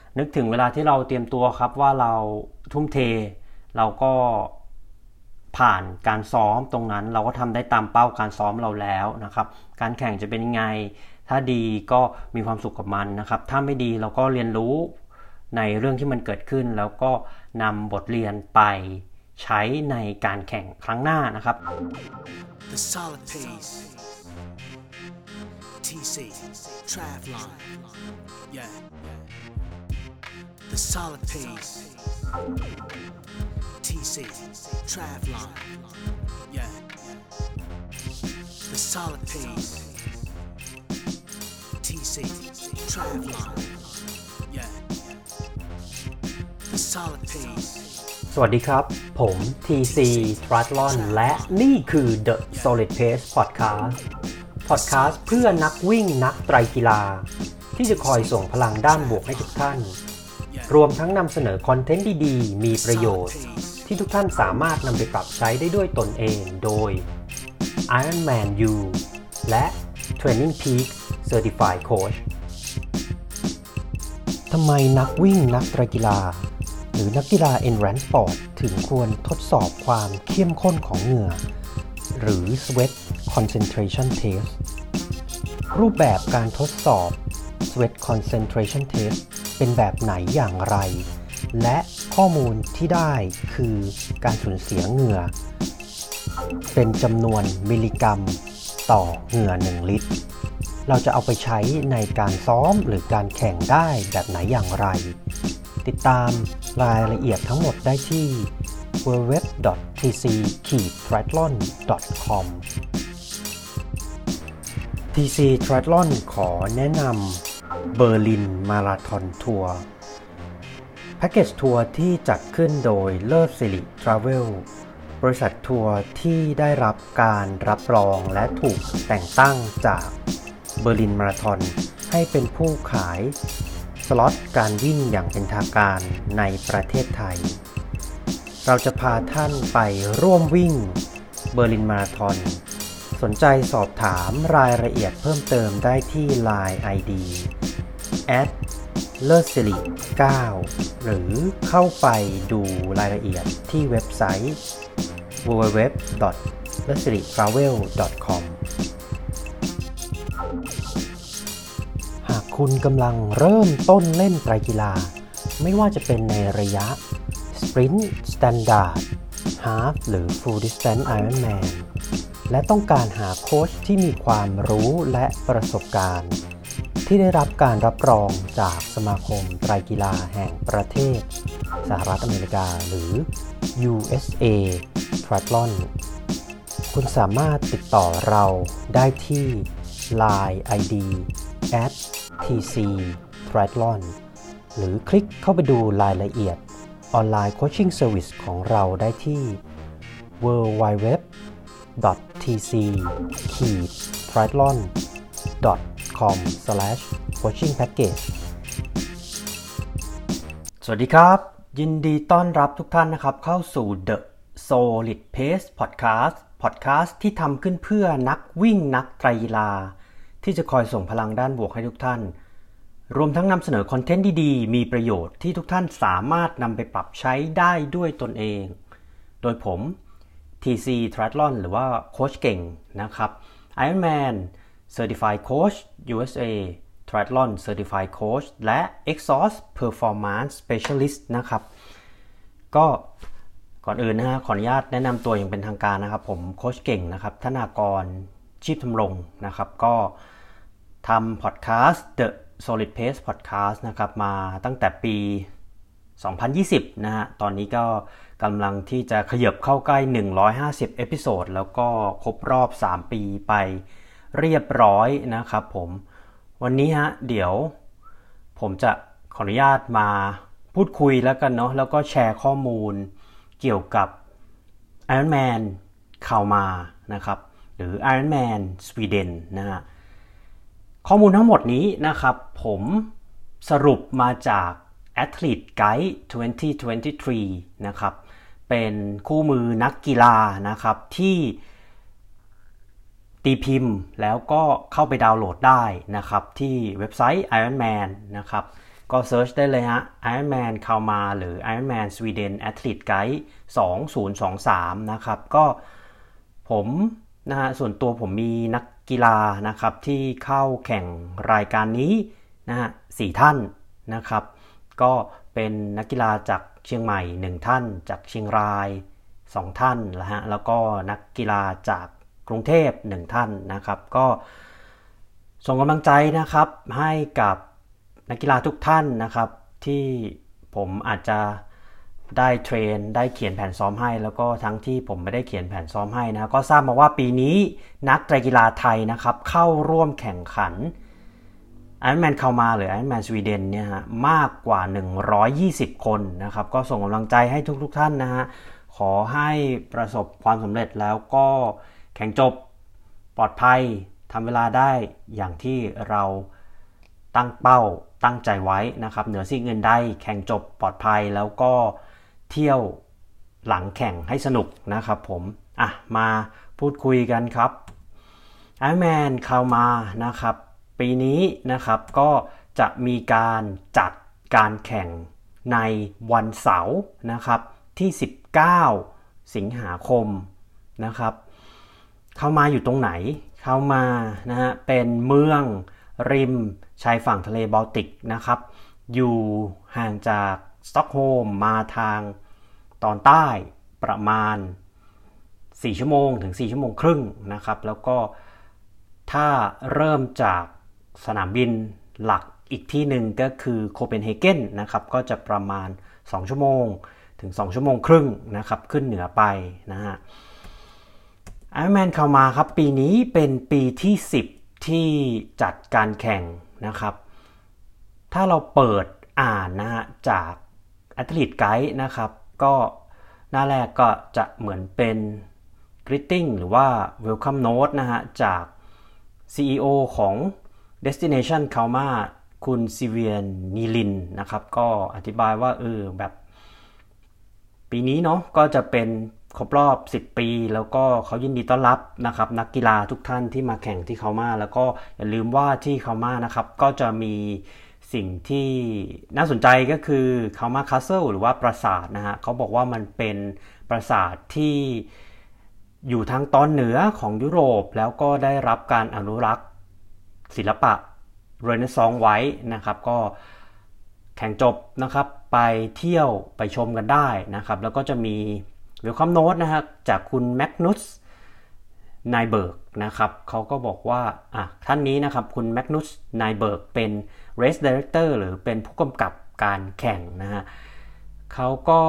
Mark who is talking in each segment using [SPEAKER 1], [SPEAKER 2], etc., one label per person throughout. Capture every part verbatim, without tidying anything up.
[SPEAKER 1] นึกถึงเวลาที่เราเตรียมตัวครับว่าเราทุ่มเทเราก็ผ่านการซ้อมตรงนั้นเราก็ทำได้ตามเป้าการซ้อมเราแล้วนะครับการแข่งจะเป็นยังไงถ้าดีก็มีความสุขกับมันนะครับถ้าไม่ดีเราก็เรียนรู้ในเรื่องที่มันเกิดขึ้นแล้วก็นำบทเรียนไปใช้ในการแข่งครั้งหน้านะครับ
[SPEAKER 2] The solid paceที ซี Travlon yeah The solid paceที ซี Travlon yeah The solid paceที ซี Travlon yeah The solid pace
[SPEAKER 1] สวัสดีครับผม ที ซี Triathlon และนี่คือ The Solid Pace Podcast Podcast เพื่อนักวิ่งนักไตรกีฬาที่จะคอยส่งพลังด้านบวกให้ทุกท่านรวมทั้งนำเสนอคอนเทนต์ดีๆมีประโยชน์ที่ทุกท่านสามารถนำไปปรับใช้ได้ด้วยตนเองโดย Ironman U และ Training Peaks Certified Coach ทำไมนักวิ่งนักไตรกีฬาหรือนักกีฬา Endurance Sport ถึงควรทดสอบความเข้มข้นของเหงื่อหรือ Sweat Concentration Test รูปแบบการทดสอบ Sweat Concentration Test เป็นแบบไหนอย่างไรและข้อมูลที่ได้คือการสูญเสียเหงื่อเป็นจำนวนมิลลิกรัมต่อเหงื่อหนึ่งลิตรเราจะเอาไปใช้ในการซ้อมหรือการแข่งได้แบบไหนอย่างไรติดตามรายละเอียดทั้งหมดได้ที่ ดับเบิลยู ดับเบิลยู ดับเบิลยู ดอท ที ซี ทริแอธลอน ดอท คอม ที ซี Triathlon ขอแนะนำเบอร์ลินมาราธอนทัวร์แพ็กเกจทัวร์ที่จัดขึ้นโดยเลิศสิริทราเวลบริษัททัวร์ที่ได้รับการรับรองและถูกแต่งตั้งจากเบอร์ลินมาราธอนให้เป็นผู้ขายสล็อตการวิ่งอย่างเป็นทางการในประเทศไทยเราจะพาท่านไปร่วมวิ่งเบอร์ลินมาราธอนสนใจสอบถามรายละเอียดเพิ่มเติมได้ที่ ไลน์ ไอ ดี แอท เลิศสิริ เก้า หรือเข้าไปดูรายละเอียดที่เว็บไซต์ ดับเบิลยู ดับเบิลยู ดับเบิลยู ดอท เลิศสิริ ทราเวล ดอท คอม หากคุณกำลังเริ่มต้นเล่นไตรกีฬาไม่ว่าจะเป็นในระยะ Sprint Standard Half หรือ Full Distance Ironman และต้องการหาโค้ชที่มีความรู้และประสบการณ์ที่ได้รับการรับรองจากสมาคมไตรกีฬาแห่งประเทศสหรัฐอเมริกาหรือ ยู เอส เอ Triathlon คุณสามารถติดต่อเราได้ที่ ไลน์ ไอ ดี แอท ที ซี Triathlon หรือคลิกเข้าไปดูรายละเอียดออนไลน์โคชชิ่งเซอร์วิสของเราได้ที่ ดับเบิลยู ดับเบิลยู ดับเบิลยู ดอท ที ซี ทริแอธลอน ดอท คอม สแลช โคชชิ่งแพ็คเกจ สวัสดีครับยินดีต้อนรับทุกท่านนะครับเข้าสู่ The Solid Pace Podcast Podcast ที่ทำขึ้นเพื่อนักวิ่งนักไตรกีฬาที่จะคอยส่งพลังด้านบวกให้ทุกท่านรวมทั้งนำเสนอคอนเทนต์ดีๆมีประโยชน์ที่ทุกท่านสามารถนำไปปรับใช้ได้ด้วยตนเองโดยผม ที ซี Triathlon หรือว่าโค้ชเก่งนะครับ Ironman Certified Coach ยู เอส เอ Triathlon Certified Coach และ Exhaust Performance Specialist นะครับก็ก่อนอื่นนะฮะขออนุญาตแนะนำตัวอย่างเป็นทางการนะครับผมโค้ชเก่งนะครับธนากรชีพทำรงนะครับก็ทำพอดแคสต์ The Solid Pace Podcast นะครับมาตั้งแต่ปีสองพันยี่สิบนะฮะตอนนี้ก็กำลังที่จะขยับเข้าใกล้หนึ่งร้อยห้าสิบเอพิโซดแล้วก็ครบรอบสามปีไปเรียบร้อยนะครับผมวันนี้ฮะเดี๋ยวผมจะขออนุญาตมาพูดคุยแล้วกันเนาะแล้วก็แชร์ข้อมูลเกี่ยวกับ Ironman ข่าวมานะครับหรือ Ironman Sweden นะฮะข้อมูลทั้งหมดนี้นะครับผมสรุปมาจาก Athlete Guide สองพันยี่สิบสามนะครับเป็นคู่มือนักกีฬานะครับที่ตีพิมพ์แล้วก็เข้าไปดาวน์โหลดได้นะครับที่เว็บไซต์ Ironman นะครับก็เซิร์ชได้เลยฮะ Ironman Kalmar หรือ Ironman Sweden Athlete Guide สองพันยี่สิบสามนะครับก็ผมนะฮะส่วนตัวผมมีนักกีฬานะครับที่เข้าแข่งรายการนี้นะฮะสี่ท่านนะครับก็เป็นนักกีฬาจากเชียงใหม่หนึ่งท่านจากเชียงรายสองท่านนะฮะแล้วก็นักกีฬาจากกรุงเทพหนึ่งท่านนะครับก็ส่งกำลังใจนะครับให้กับนักกีฬาทุกท่านนะครับที่ผมอาจจะได้เทรนได้เขียนแผนซ้อมให้แล้วก็ทั้งที่ผมไม่ได้เขียนแผนซ้อมให้นะก็ทราบมาว่าปีนี้นักไตรกีฬาไทยนะครับเข้าร่วมแข่งขัน Ironman Kalmar หรือ Ironman Sweden เนี่ยฮะมากกว่าหนึ่งร้อยยี่สิบคนนะครับก็ส่งกำลังใจให้ทุกๆท่านนะฮะขอให้ประสบความสำเร็จแล้วก็แข่งจบปลอดภัยทำเวลาได้อย่างที่เราตั้งเป้าตั้งใจไว้นะครับเหนือสิ่งอื่นใดแข่งจบปลอดภัยแล้วก็เที่ยวหลังแข่งให้สนุกนะครับผมอ่ะมาพูดคุยกันครับ Ironman Kalmar นะครับปีนี้นะครับก็จะมีการจัดการแข่งในวันเสาร์นะครับที่สิบเก้าสิงหาคมนะครับเข้ามาอยู่ตรงไหนเข้ามานะฮะเป็นเมืองริมชายฝั่งทะเลบอลติกนะครับอยู่ห่างจากสต็อกโฮล์มมาทางตอนใต้ประมาณสี่ชั่วโมงถึงสี่ชั่วโมงครึ่งนะครับแล้วก็ถ้าเริ่มจากสนามบินหลักอีกที่หนึ่งก็คือโคเปนเฮเกนนะครับก็จะประมาณสองชั่วโมงถึงสองชั่วโมงครึ่งนะครับขึ้นเหนือไปนะฮะ Ironman Kalmar ครับปีนี้เป็นปีที่สิบที่จัดการแข่งนะครับถ้าเราเปิดอ่านนะฮะจาก Athlete Guide นะครับก็หน้าแรกก็จะเหมือนเป็น greeting หรือว่า welcome note นะฮะจาก ซี อี โอ ของ Destination Kalmar คุณซิเวียนนีลินนะครับก็อธิบายว่าเออแบบปีนี้เนาะก็จะเป็นครบรอบสิบปีแล้วก็เขายินดีต้อนรับนะครับนักกีฬาทุกท่านที่มาแข่งที่Kalmarแล้วก็อย่าลืมว่าที่Kalmarนะครับก็จะมีสิ่งที่น่าสนใจก็คือ Kalmar Castle หรือว่าปราสาทนะฮะเขาบอกว่ามันเป็นปราสาทที่อยู่ทางตอนเหนือของยุโรปแล้วก็ได้รับการอนุรักษ์ศิลปะเรเนซองส์ไว้นะครับก็แข่งจบนะครับไปเที่ยวไปชมกันได้นะครับแล้วก็จะมีเวลคัมโน้ตนะฮะจากคุณแมกนุสไนเบิร์กนะครับเขาก็บอกว่าอ่ะท่านนี้นะครับคุณแมกนุสไนเบิร์กเป็น Race Director หรือเป็นผู้กำกับการแข่งนะฮะเขาก็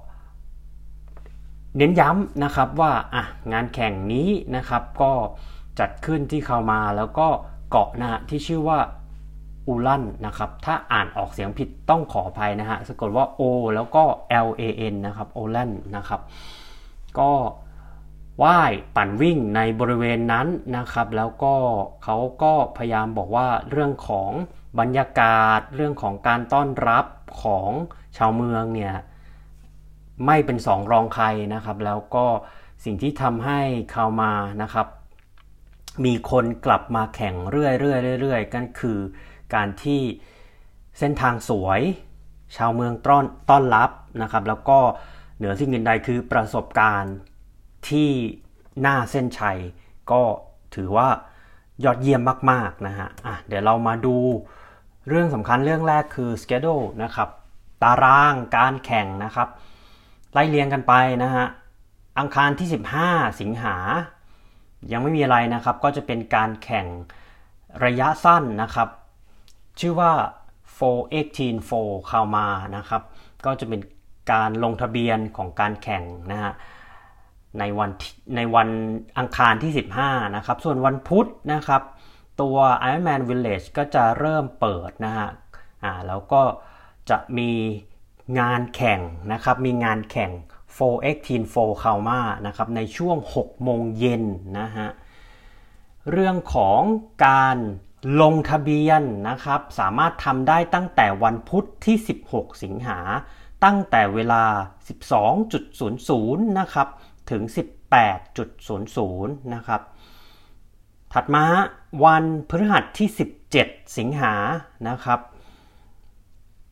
[SPEAKER 1] เน้นย้ำนะครับว่าอ่ะงานแข่งนี้นะครับก็จัดขึ้นที่Kalmarแล้วก็เกาะนะฮะที่ชื่อว่าอูลันนะครับถ้าอ่านออกเสียงผิดต้องขออภัยนะฮะสะกดว่า O แล้วก็ L A N นะครับโอลันนะครับก็ว่ายปั่นวิ่งในบริเวณนั้นนะครับแล้วก็เขาก็พยายามบอกว่าเรื่องของบรรยากาศเรื่องของการต้อนรับของชาวเมืองเนี่ยไม่เป็นสองรองใครนะครับแล้วก็สิ่งที่ทำให้Kalmarนะครับมีคนกลับมาแข่งเรื่อยๆเรื่อยๆกันคือการที่เส้นทางสวยชาวเมืองต้อนต้อนรับนะครับแล้วก็เหนือสิ่งอื่นใดคือประสบการณ์ที่หน้าเส้นชัยก็ถือว่ายอดเยี่ยมมากๆนะฮะอ่ะเดี๋ยวเรามาดูเรื่องสำคัญเรื่องแรกคือ schedule นะครับตารางการแข่งนะครับไล่เรียงกันไปนะฮะอังคารที่สิบห้าสิงหายังไม่มีอะไรนะครับก็จะเป็นการแข่งระยะสั้นนะครับชื่อว่า โฟร์ เอ็กซ์ทีน โฟร์ Kalmar นะครับก็จะเป็นการลงทะเบียนของการแข่งนะฮะในวันในวันอังคารที่สิบห้านะครับส่วนวันพุธนะครับตัว Ironman Village ก็จะเริ่มเปิดนะฮะอ่าแล้วก็จะมีงานแข่งนะครับมีงานแข่งโฟร์ เอ็กซ์ทีน โฟร์ Kalmar นะครับในช่วงหกโมงเย็นนะฮะเรื่องของการลงทะเบียนนะครับสามารถทำได้ตั้งแต่วันพุธที่สิบหกสิงหาตั้งแต่เวลา สิบสองนาฬิกา นะครับถึง สิบแปดนาฬิกา นะครับถัดมาวันพฤหัสที่สิบเจ็ดสิงหานะครับ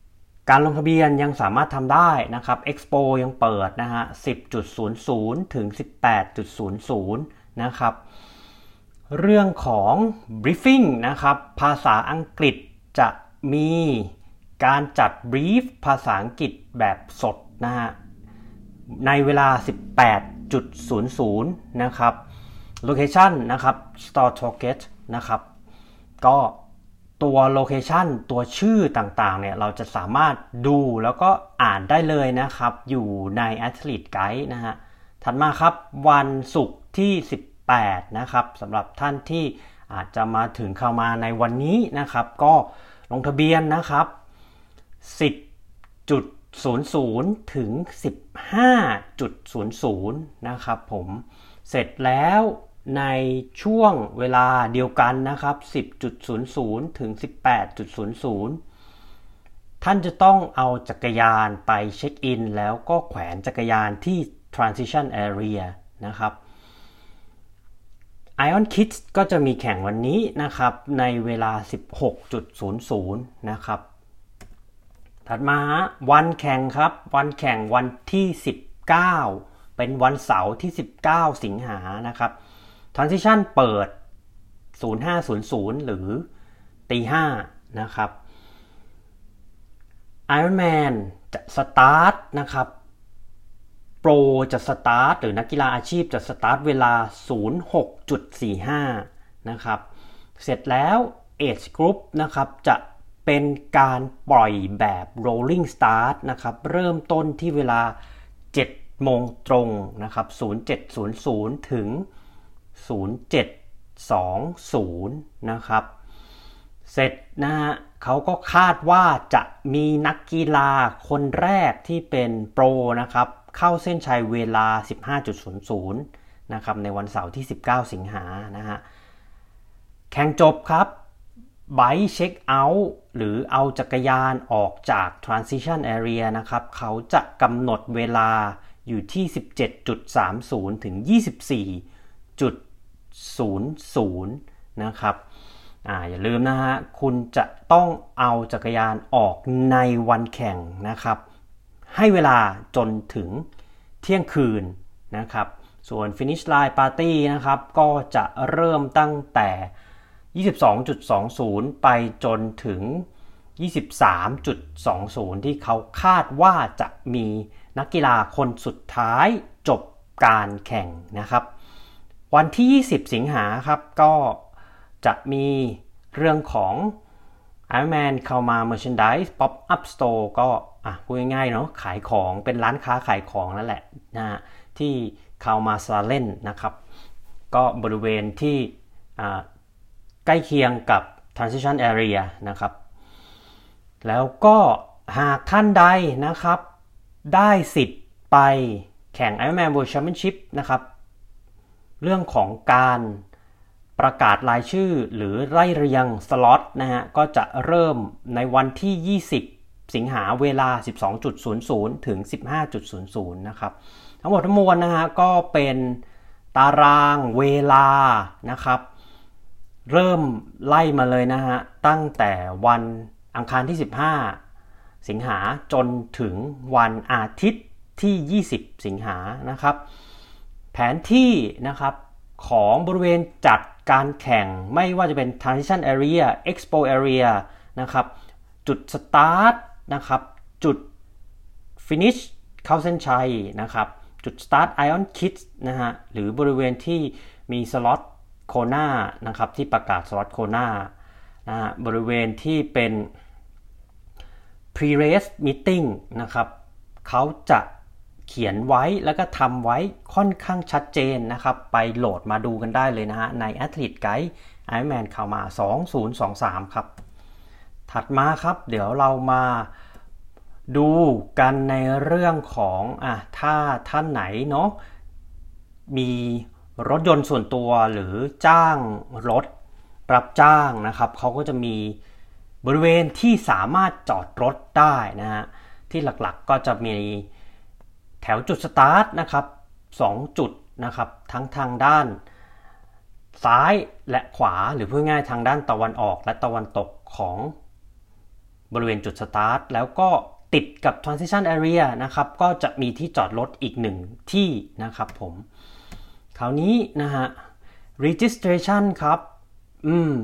[SPEAKER 1] การลงทะเบียนยังสามารถทำได้นะครับ Expo ยังเปิดนะฮะ สิบจุดศูนย์ศูนย์ ถึง สิบแปดจุดศูนย์ศูนย์ นะครับเรื่องของ briefing นะครับภาษาอังกฤษจะมีการจัด brief ภาษาอังกฤษแบบสดนะฮะในเวลา สิบแปดจุดศูนย์ศูนย์ นะครับ location นะครับ Store Target นะครับก็ตัวโลเคชันตัวชื่อต่างๆเนี่ยเราจะสามารถดูแล้วก็อ่านได้เลยนะครับอยู่ใน Athlete Guide นะฮะถัดมาครับวันศุกร์ที่สิบแปดนะครับสำหรับท่านที่อาจจะมาถึงเข้ามาในวันนี้นะครับก็ลงทะเบียนนะครับ สิบจุดศูนย์ศูนย์ ถึง สิบห้าจุดศูนย์ศูนย์ นะครับผมเสร็จแล้วในช่วงเวลาเดียวกันนะครับ สิบจุดศูนย์ศูนย์ ถึง สิบแปดจุดศูนย์ศูนย์ ท่านจะต้องเอาจักรยานไปเช็คอินแล้วก็แขวนจักรยานที่ transition area นะครับ Ion Kids ก็จะมีแข่งวันนี้นะครับในเวลา สิบหกจุดศูนย์ศูนย์ นะครับถัดมาวันแข่งครับวันแข่งวันที่สิบเก้าเป็นวันเสาร์ที่สิบเก้าสิงหานะครับ Transition เปิด ศูนย์ห้าศูนย์ศูนย์ หรือตีห้านะครับ Ironman จะสตาร์ทนะครับโปรจะสตาร์ทหรือนักกีฬาอาชีพจะสตาร์ทเวลา ศูนย์หกจุดสี่ห้า นะครับเสร็จแล้ว Age Group นะครับจะเป็นการปล่อยแบบ rolling start นะครับเริ่มต้นที่เวลา เจ็ดโมงตรงนะครับ ศูนย์เจ็ดศูนย์ศูนย์ ถึง ศูนย์เจ็ดสองศูนย์ นะครับเสร็จนะฮะเขาก็คาดว่าจะมีนักกีฬาคนแรกที่เป็นโปรนะครับเข้าเส้นชัยเวลา สิบห้าจุดศูนย์ศูนย์ นะครับในวันเสาร์ที่สิบเก้าสิงหานะฮะแข่งจบครับไบค์เช็คเอาท์หรือเอาจักรยานออกจาก transition area นะครับเขาจะกำหนดเวลาอยู่ที่ สิบเจ็ดจุดสามศูนย์ ถึง ยี่สิบสี่จุดศูนย์ศูนย์ นะครับอ่าอย่าลืมนะฮะคุณจะต้องเอาจักรยานออกในวันแข่งนะครับให้เวลาจนถึงเที่ยงคืนนะครับส่วน finish line party นะครับก็จะเริ่มตั้งแต่ ยี่สิบสองจุดสองศูนย์ ไปจนถึง ยี่สิบสามจุดสองศูนย์ ที่เขาคาดว่าจะมีนักกีฬาคนสุดท้ายจบการแข่งนะครับวันที่ยี่สิบสิงหาครับก็จะมีเรื่องของ Ironman เข้ามา Merchandise Pop Up Store ก็อ่ะพูดง่ายๆเนาะขายของเป็นร้านค้าขายของนั่นแหละนะที่เข้ามาซาเล่นนะครับก็บริเวณที่อ่าใกล้เคียงกับ transition area นะครับแล้วก็หากท่านใดนะครับได้สิทธิ์ไปแข่ง Ironman World Championship นะครับเรื่องของการประกาศรายชื่อหรือไล่เรียงสล็อตนะฮะก็จะเริ่มในวันที่ยี่สิบสิงหาเวลา สิบสองจุดศูนย์ศูนย์ ถึง สิบห้าจุดศูนย์ศูนย์ นะครับทั้งหมดทั้งมวลนะฮะก็เป็นตารางเวลานะครับเริ่มไล่มาเลยนะฮะตั้งแต่วันอังคารที่สิบห้าสิงหาจนถึงวันอาทิตย์ที่ยี่สิบสิงหานะครับแผนที่นะครับของบริเวณจัดการแข่งไม่ว่าจะเป็น transition area expo area นะครับจุด start นะครับจุด finish เข้าเส้นชัยนะครับจุด start Ion Kids นะฮะหรือบริเวณที่มีสล็อตโคนานะครับที่ประกาศสล็อตโคนานะฮะบริเวณที่เป็น pre-race meeting นะครับเขาจะเขียนไว้แล้วก็ทำไว้ค่อนข้างชัดเจนนะครับไปโหลดมาดูกันได้เลยนะฮะใน Athlete Guide Ironman เข้ามาสองพันยี่สิบสามครับถัดมาครับเดี๋ยวเรามาดูกันในเรื่องของอ่ะถ้าท่านไหนเนาะมีรถยนต์ส่วนตัวหรือจ้างรถรับจ้างนะครับเขาก็จะมีบริเวณที่สามารถจอดรถได้นะฮะที่หลักๆก็จะมีแถวจุดสตาร์ทนะครับสองจุดนะครับทั้งทางด้านซ้ายและขวาหรือพูดง่ายทางด้านตะวันออกและตะวันตกของบริเวณจุดสตาร์ทแล้วก็ติดกับ transition area นะครับก็จะมีที่จอดรถอีกหนึ่งที่นะครับผมคราวนี้นะฮะ registration ครับอืม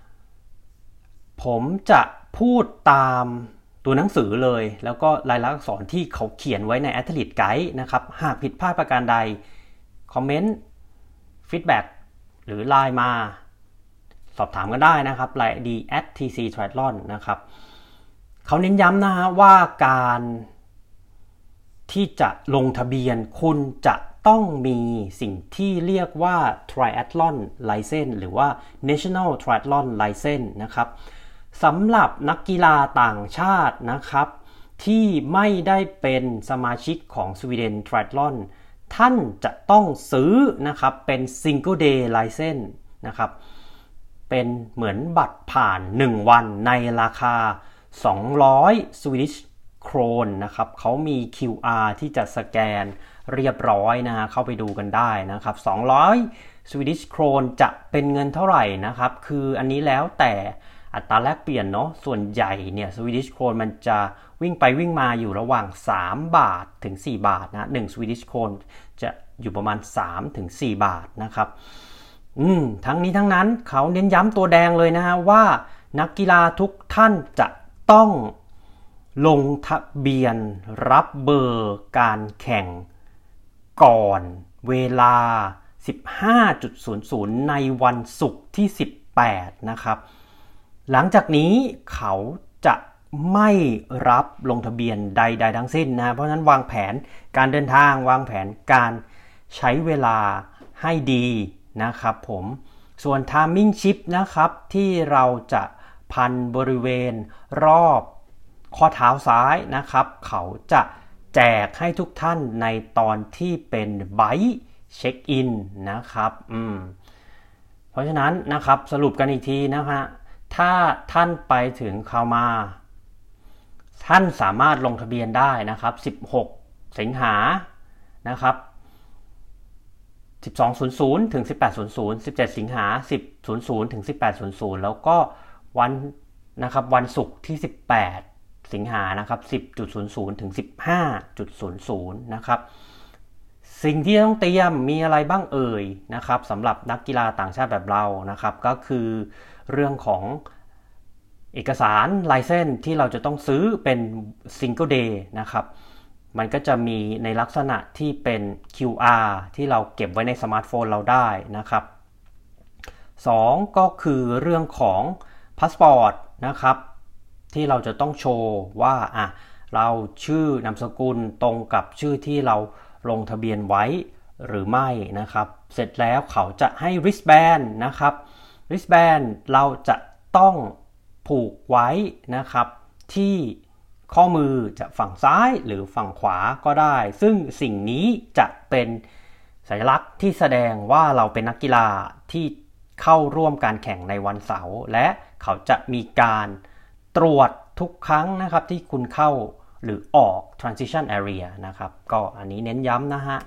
[SPEAKER 1] ผมจะพูดตามตัวหนังสือเลยแล้วก็ลายลักษณ์อักษรที่เขาเขียนไว้ใน Athlete Guide นะครับหากผิดพลาดประการใดคอมเมนต์ฟีดแบ็กหรือไลน์มาสอบถามกันได้นะครับไลน์ ดี แอท ที ซี Triathlon นะครับเขาเน้นย้ำนะฮะว่าการที่จะลงทะเบียนคุณจะต้องมีสิ่งที่เรียกว่า Triathlon License หรือว่า National Triathlon License นะครับสำหรับนักกีฬาต่างชาตินะครับที่ไม่ได้เป็นสมาชิกของ Sweden Triathlon ท่านจะต้องซื้อนะครับเป็น Single Day License นะครับเป็นเหมือนบัตรผ่านหนึ่งวันในราคาสองร้อย Swedish Kron นะครับเขามี คิว อาร์ ที่จะสแกนเรียบร้อยนะฮะเข้าไปดูกันได้นะครับสองร้อย Swedish Kron จะเป็นเงินเท่าไหร่นะครับคืออันนี้แล้วแต่อัตราแลกเปลี่ยนเนาะส่วนใหญ่เนี่ย Swedish Kron มันจะวิ่งไปวิ่งมาอยู่ระหว่างสามบาทถึงสี่บาทนะหนึ่ง Swedish Kron จะอยู่ประมาณสามถึงสี่บาทนะครับอืมทั้งนี้ทั้งนั้นเขาเน้นย้ำตัวแดงเลยนะฮะว่านักกีฬาทุกท่านจะต้องลงทะเบียนรับเบอร์การแข่งก่อนเวลา สิบห้านาฬิกา ในวันศุกร์ที่สิบแปดนะครับหลังจากนี้เขาจะไม่รับลงทะเบียนใดๆทั้งสิ้นนะเพราะฉะนั้นวางแผนการเดินทางวางแผนการใช้เวลาให้ดีนะครับผมส่วน timing chip นะครับที่เราจะพันบริเวณรอบข้อเท้าซ้ายนะครับเขาจะแจกให้ทุกท่านในตอนที่เป็นไบค์เช็คอินนะครับอืมเพราะฉะนั้นนะครับสรุปกันอีกทีนะฮะถ้าท่านไปถึงคามาท่านสามารถลงทะเบียนได้นะครับสิบหกสิงหานะครับสิบสองนาฬิกา ถึง สิบแปดนาฬิกา สิบเจ็ดสิงหา สิบนาฬิกา ถึง สิบแปดนาฬิกา แล้วก็วันนะครับวันศุกร์ที่สิบแปดสิงหานะครับ สิบนาฬิกา ถึง สิบห้านาฬิกา นะครับสิ่งที่ต้องเตรียมมีอะไรบ้างเอ่ยนะครับสำหรับนักกีฬาต่างชาติแบบเรานะครับก็คือเรื่องของเอกสารไลเซนส์ที่เราจะต้องซื้อเป็น Single Day นะครับมันก็จะมีในลักษณะที่เป็น คิว อาร์ ที่เราเก็บไว้ในสมาร์ทโฟนเราได้นะครับสองก็คือเรื่องของพาสปอร์ตนะครับที่เราจะต้องโชว์ว่าอ่ะเราชื่อนามสกุลตรงกับชื่อที่เราลงทะเบียนไว้หรือไม่นะครับเสร็จแล้วเขาจะให้ wristband นะครับ wristband เราจะต้องผูกไว้นะครับที่ข้อมือจะฝั่งซ้ายหรือฝั่งขวาก็ได้ซึ่งสิ่งนี้จะเป็นสัญลักษณ์ที่แสดงว่าเราเป็นนักกีฬาที่เข้าร่วมการแข่งในวันเสาร์และเขาจะมีการตรวจทุกครั้งนะครับที่คุณเข้าหรือออก transition area นะครับก็อันนี้เน้นย้ำนะฮะ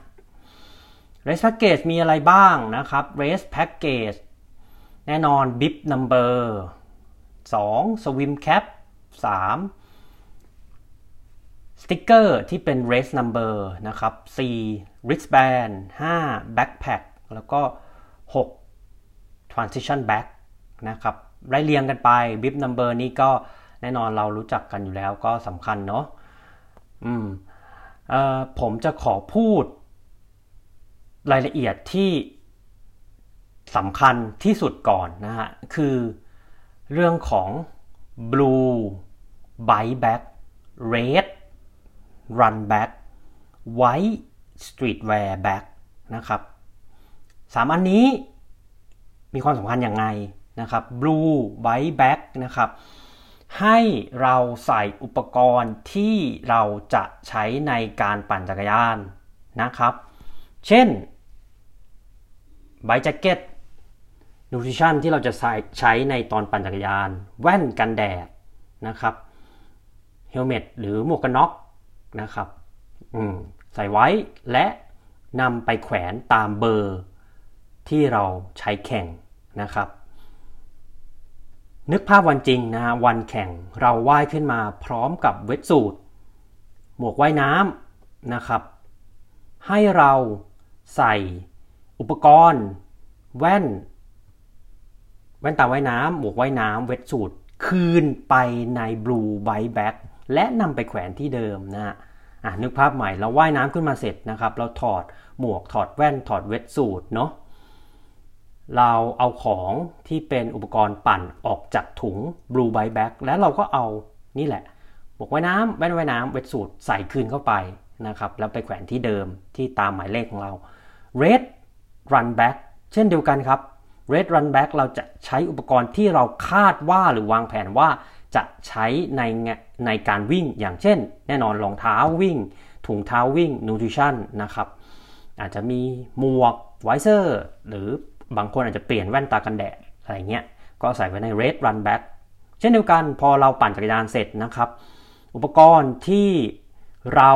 [SPEAKER 1] race package มีอะไรบ้างนะครับ race package แน่นอน bib number สอง swim cap สามสติ๊กเกอร์ที่เป็น race number นะครับสี่ wristband ห้า backpack แล้วก็หก transition bag นะครับไล่เรียงกันไป bib number นี้ก็แน่นอนเรารู้จักกันอยู่แล้วก็สำคัญเนาะอืมเอ่อผมจะขอพูดรายละเอียดที่สำคัญที่สุดก่อนนะฮะคือเรื่องของ blue bike bag red run bag white streetwear bag นะครับสามอันนี้มีความสำคัญอย่างไรนะครับ blue bike bag นะครับให้เราใส่อุปกรณ์ที่เราจะใช้ในการปั่นจักรยานนะครับเช่นไบค์แจ็คเก็ตนูทริชั่นที่เราจะใช้ใช้ในตอนปั่นจักรยานแว่นกันแดดนะครับเฮลเมตหรือหมวกกันน็อกนะครับอืมใส่ไว้และนำไปแขวนตามเบอร์ที่เราใช้แข่งนะครับนึกภาพวันจริงนะฮะวันแข่งเราว่ายขึ้นมาพร้อมกับเวทสูทหมวกว่ายน้ำนะครับให้เราใส่อุปกรณ์แว่นแว่นตาว่ายน้ำหมวกว่ายน้ำเวทสูทคืนไปใน Blue Bike Bag และนำไปแขวนที่เดิมนะฮะอ่ะนึกภาพใหม่เราว่ายน้ำขึ้นมาเสร็จนะครับเราถอดหมวกถอดแว่นถอดเวทสูทเนาะเราเอาของที่เป็นอุปกรณ์ปั่นออกจากถุง Blue Bike Bag แล้วเราก็เอานี่แหละหมวกว่ายน้ำแว่นว่ายน้ำเวทสูทใส่คืนเข้าไปนะครับแล้วไปแขวนที่เดิมที่ตามหมายเลขของเรา Red Run Bag เช่นเดียวกันครับ Red Run Bag เราจะใช้อุปกรณ์ที่เราคาดว่าหรือวางแผนว่าจะใช้ในในการวิ่งอย่างเช่นแน่นอนรองเท้าวิ่งถุงเท้าวิ่ง Nutrition นะครับอาจจะมีหมวกไวเซอร์หรือบางคนอาจจะเปลี่ยนแว่นตากันแดดอะไรเงี้ยก็ใส่ไว้ใน Red Run Bag เช่นเดียวกันพอเราปั่นจักรยานเสร็จนะครับอุปกรณ์ที่เรา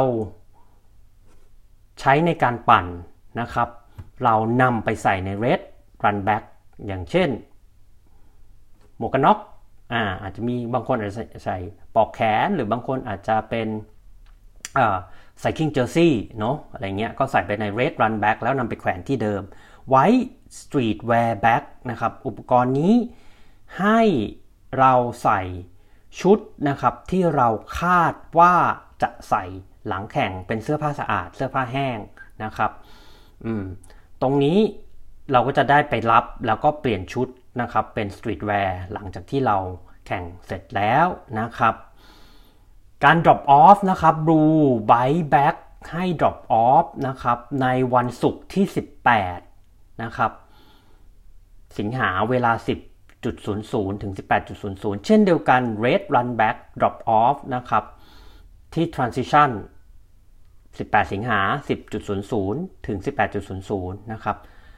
[SPEAKER 1] ใช้ในการปั่นนะครับเรานำไปใส่ใน Red Run Bag อย่างเช่นหมวกกันน็อกอ่าอาจจะมีบางคนอาจจะใส่ปลอกแขนหรือบางคนอาจจะเป็นอ่าใส่ King Jersey เนาะอะไรเงี้ยก็ใส่ไปใน Red Run Bag แล้วนำไปแขวนที่เดิม White Streetwear Bag นะครับอุปกรณ์นี้ให้เราใส่ชุดนะครับที่เราคาดว่าจะใส่หลังแข่งเป็นเสื้อผ้าสะอาดเสื้อผ้าแห้งนะครับอืมตรงนี้เราก็จะได้ไปรับแล้วก็เปลี่ยนชุดนะครับเป็นสตรีทแวร์หลังจากที่เราแข่งเสร็จแล้วนะครับการ drop off นะครับ Blue Bike Bag ให้ drop off นะครับในวันศุกร์ที่สิบแปดนะครับสิงหาเวลา สิบจุดศูนย์ศูนย์ ถึง สิบแปดจุดศูนย์ศูนย์ เช่นเดียวกัน Red Run Bag drop off นะครับที่ Transition สิบแปดสิงหา สิบจุดศูนย์ศูนย์ ถึง สิบแปดจุดศูนย์ศูนย์ นะครับ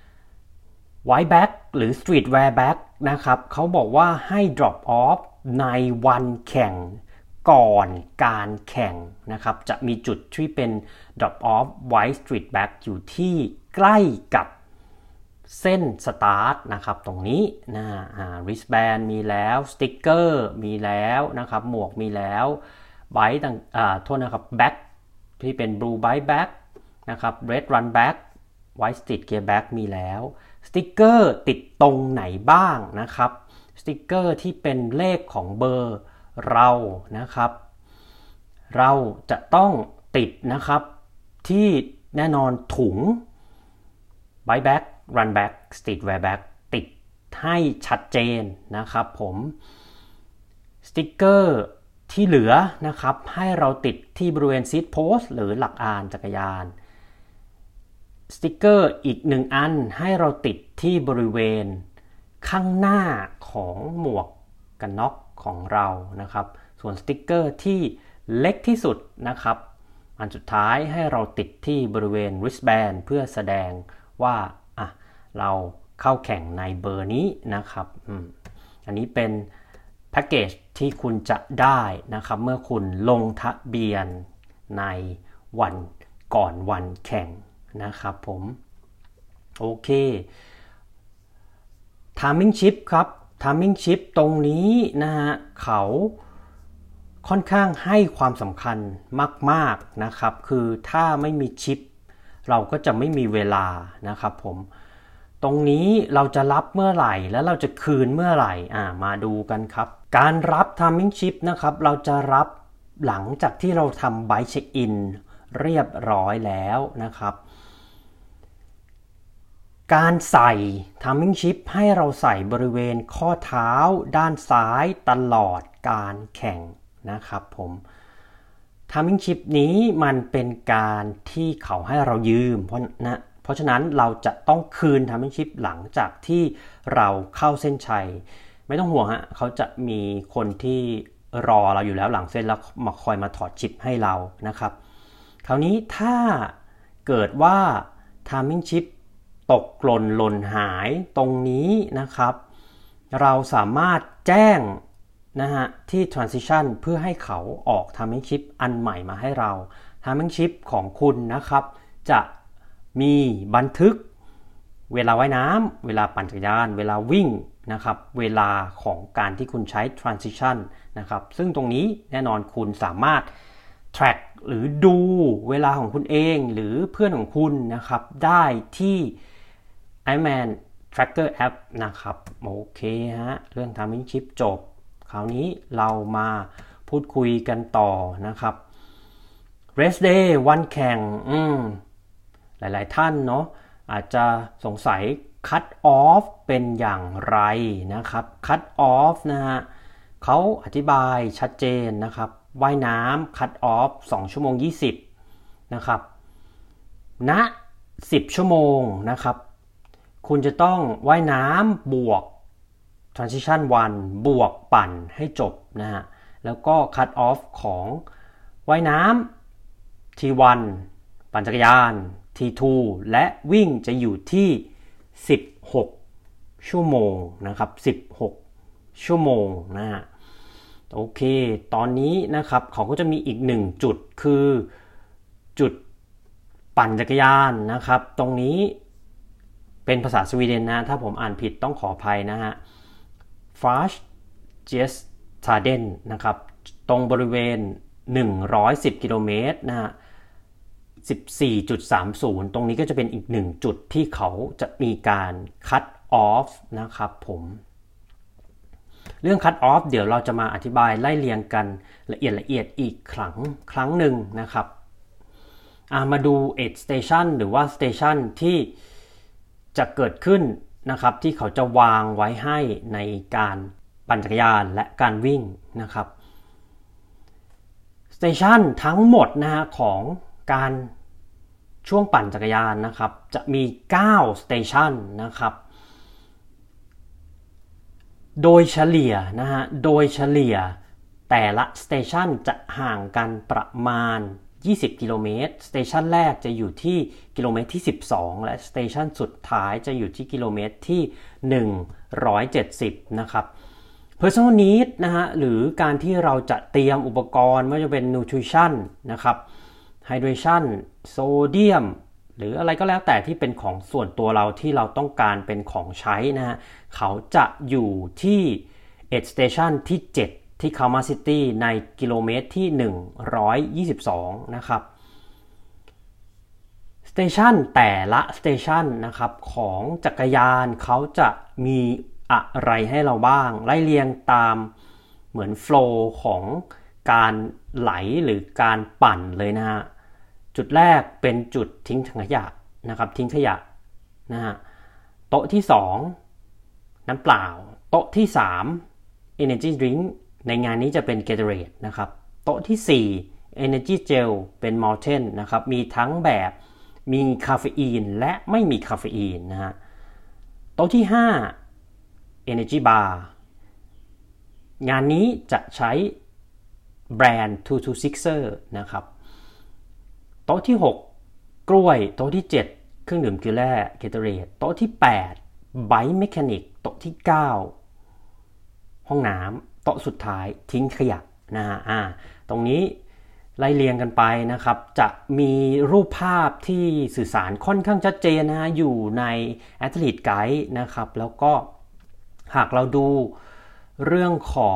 [SPEAKER 1] White Bag หรือ Streetwear Bag นะครับเขาบอกว่าให้ drop off ในวันแข่งก่อนการแข่งนะครับจะมีจุดที่เป็น drop off White Street Bag อยู่ที่ใกล้กับเส้นสตาร์ทนะครับตรงนี้นะอ่า wristband มีแล้วสติ๊กเกอร์มีแล้วนะครับหมวกมีแล้วไบค์ต่างอ่าโทษนะครับแบ็คที่เป็น blue bike bag นะครับ red run bag white street gear bag มีแล้วสติ๊กเกอร์ติดตรงไหนบ้างนะครับสติ๊กเกอร์ที่เป็นเลขของเบอร์เรานะครับเราจะต้องติดนะครับที่แน่นอนถุง bike bag run bag streetwear bag ติดให้ชัดเจนนะครับผมสติ๊กเกอร์ที่เหลือนะครับให้เราติดที่บริเวณซีทโพสต์หรือหลักอานจักรยานสติ๊กเกอร์อีกหนึ่งอันให้เราติดที่บริเวณข้างหน้าของหมวกกันน็อกของเรานะครับส่วนสติ๊กเกอร์ที่เล็กที่สุดนะครับอันสุดท้ายให้เราติดที่บริเวณ wristband เพื่อแสดงว่าอ่ะเราเข้าแข่งในเบอร์นี้นะครับอืมอันนี้เป็นแพ็กเกจที่คุณจะได้นะครับเมื่อคุณลงทะเบียนในวันก่อนวันแข่งนะครับผมโอเค Timing Chip ครับ Timing Chip ตรงนี้นะฮะเขาค่อนข้างให้ความสำคัญมากๆนะครับคือถ้าไม่มีชิปเราก็จะไม่มีเวลานะครับผมตรงนี้เราจะรับเมื่อไหร่และเราจะคืนเมื่อไหร่อ่ามาดูกันครับการรับ Timing Chip นะครับเราจะรับหลังจากที่เราทำ Bike Check-in เรียบร้อยแล้วนะครับการใส่ Timing Chip ให้เราใส่บริเวณข้อเท้าด้านซ้ายตลอดการแข่งนะครับผม Timing Chip นี้มันเป็นการที่เขาให้เรายืมเพราะนะเพราะฉะนั้นเราจะต้องคืน Timing Chip หลังจากที่เราเข้าเส้นชัยไม่ต้องห่วงฮะเขาจะมีคนที่รอเราอยู่แล้วหลังเส้นแล้วมาคอยมาถอดชิปให้เรานะครับคราวนี้ถ้าเกิดว่า Timing Chip ตกหล่นหล่นหายตรงนี้นะครับเราสามารถแจ้งนะฮะที่ transition เพื่อให้เขาออก Timing Chip อันใหม่มาให้เรา Timing Chip ของคุณนะครับจะมีบันทึกเวลาว่ายน้ำเวลาปั่นจักรยานเวลาวิ่งนะครับเวลาของการที่คุณใช้ transition นะครับซึ่งตรงนี้แน่นอนคุณสามารถ track หรือดูเวลาของคุณเองหรือเพื่อนของคุณนะครับได้ที่ Ironman Tracker App นะครับโอเคฮะเรื่อง Time Chip จบคราวนี้เรามาพูดคุยกันต่อนะครับ Race Day วันแข่งอืมหลายๆท่านเนาะอาจจะสงสัย Cut Off เป็นอย่างไรนะครับ Cut Off นะฮะเขาอธิบายชัดเจนนะครับว่ายน้ำ Cut Off สองชั่วโมงยี่สิบนะครับณสิบชั่วโมงนะครับคุณจะต้องว่ายน้ำบวก Transition วันบวกปั่นให้จบนะฮะแล้วก็ Cut Off ของว่ายน้ำ ที วัน ปั่นจักรยาน ที ทู และวิ่งจะอยู่ที่สิบหกชั่วโมงนะครับสิบหกชั่วโมงนะฮะโอเคตอนนี้นะครับเขาก็จะมีอีกหนึ่งจุดคือจุดปั่นจักรยานนะครับตรงนี้เป็นภาษาสวีเดนนะถ้าผมอ่านผิดต้องขออภัยนะฮะ Fast Jes Taden นะครับตรงบริเวณหนึ่งร้อยสิบกิโลเมตรนะฮะ สิบสี่จุดสามศูนย์ ตรงนี้ก็จะเป็นอีกหนึ่งจุดที่เขาจะมีการ cut off นะครับผมเรื่อง cut off เดี๋ยวเราจะมาอธิบายไล่เรียงกันละเอียดละเอียดอีกครั้งครั้งหนึ่งนะครับมาดู aid station หรือว่า station ที่จะเกิดขึ้นนะครับที่เขาจะวางไว้ให้ในการปั่นจักรยานและการวิ่งนะครับ station ทั้งหมดนะฮะของการช่วงปั่นจักรยานนะครับจะมีเก้า station นะครับโดยเฉลี่ยนะฮะโดยเฉลี่ยแต่ละ station จะห่างกันประมาณยี่สิบกิโลเมตร station แรกจะอยู่ที่กิโลเมตรที่สิบสองและ station สุดท้ายจะอยู่ที่กิโลเมตรที่หนึ่งร้อยเจ็ดสิบนะครับ personal need นะฮะหรือการที่เราจะเตรียมอุปกรณ์ไม่ว่าจะเป็น nutrition นะครับ hydration โซเดียมหรืออะไรก็แล้วแต่ที่เป็นของส่วนตัวเราที่เราต้องการเป็นของใช้นะฮะเขาจะอยู่ที่ aid station ที่เจ็ดที่ Kalmar City ในกิโลเมตรที่หนึ่งร้อยยี่สิบสองนะครับสเตชันแต่ละสเตชันนะครับของจักรยานเขาจะมีอะไรให้เราบ้างไล่เรียงตามเหมือนโฟลว์ของการไหลหรือการปั่นเลยนะฮะจุดแรกเป็นจุดทิ้งถังขยะนะครับทิ้งขยะนะฮะโต๊ะที่สองน้ำเปล่าโต๊ะที่สาม Energy Drink ในงานนี้จะเป็น Gatorade นะครับโต๊ะที่สี่ Energy Gel เป็น Mountain นะครับมีทั้งแบบมีคาเฟอีนและไม่มีคาเฟอีนนะฮะโต๊ะที่ห้า Energy Bar งานนี้จะใช้แบรนด์ ทู ทู ซิกซ์ er นะครับโต๊ะที่หกกล้วยโต๊ะที่เจ็ดเครื่องดื่มเกลือแร่ Gatorade โต๊ะที่แปด Bike Mechanic โต๊ะที่เก้าห้องน้ำโต๊ะสุดท้ายทิ้งขยะนะฮะอ่าตรงนี้ไล่เรียงกันไปนะครับจะมีรูปภาพที่สื่อสารค่อนข้างชัดเจนนะฮะอยู่ใน Athlete Guide นะครับแล้วก็หากเราดูเรื่องของ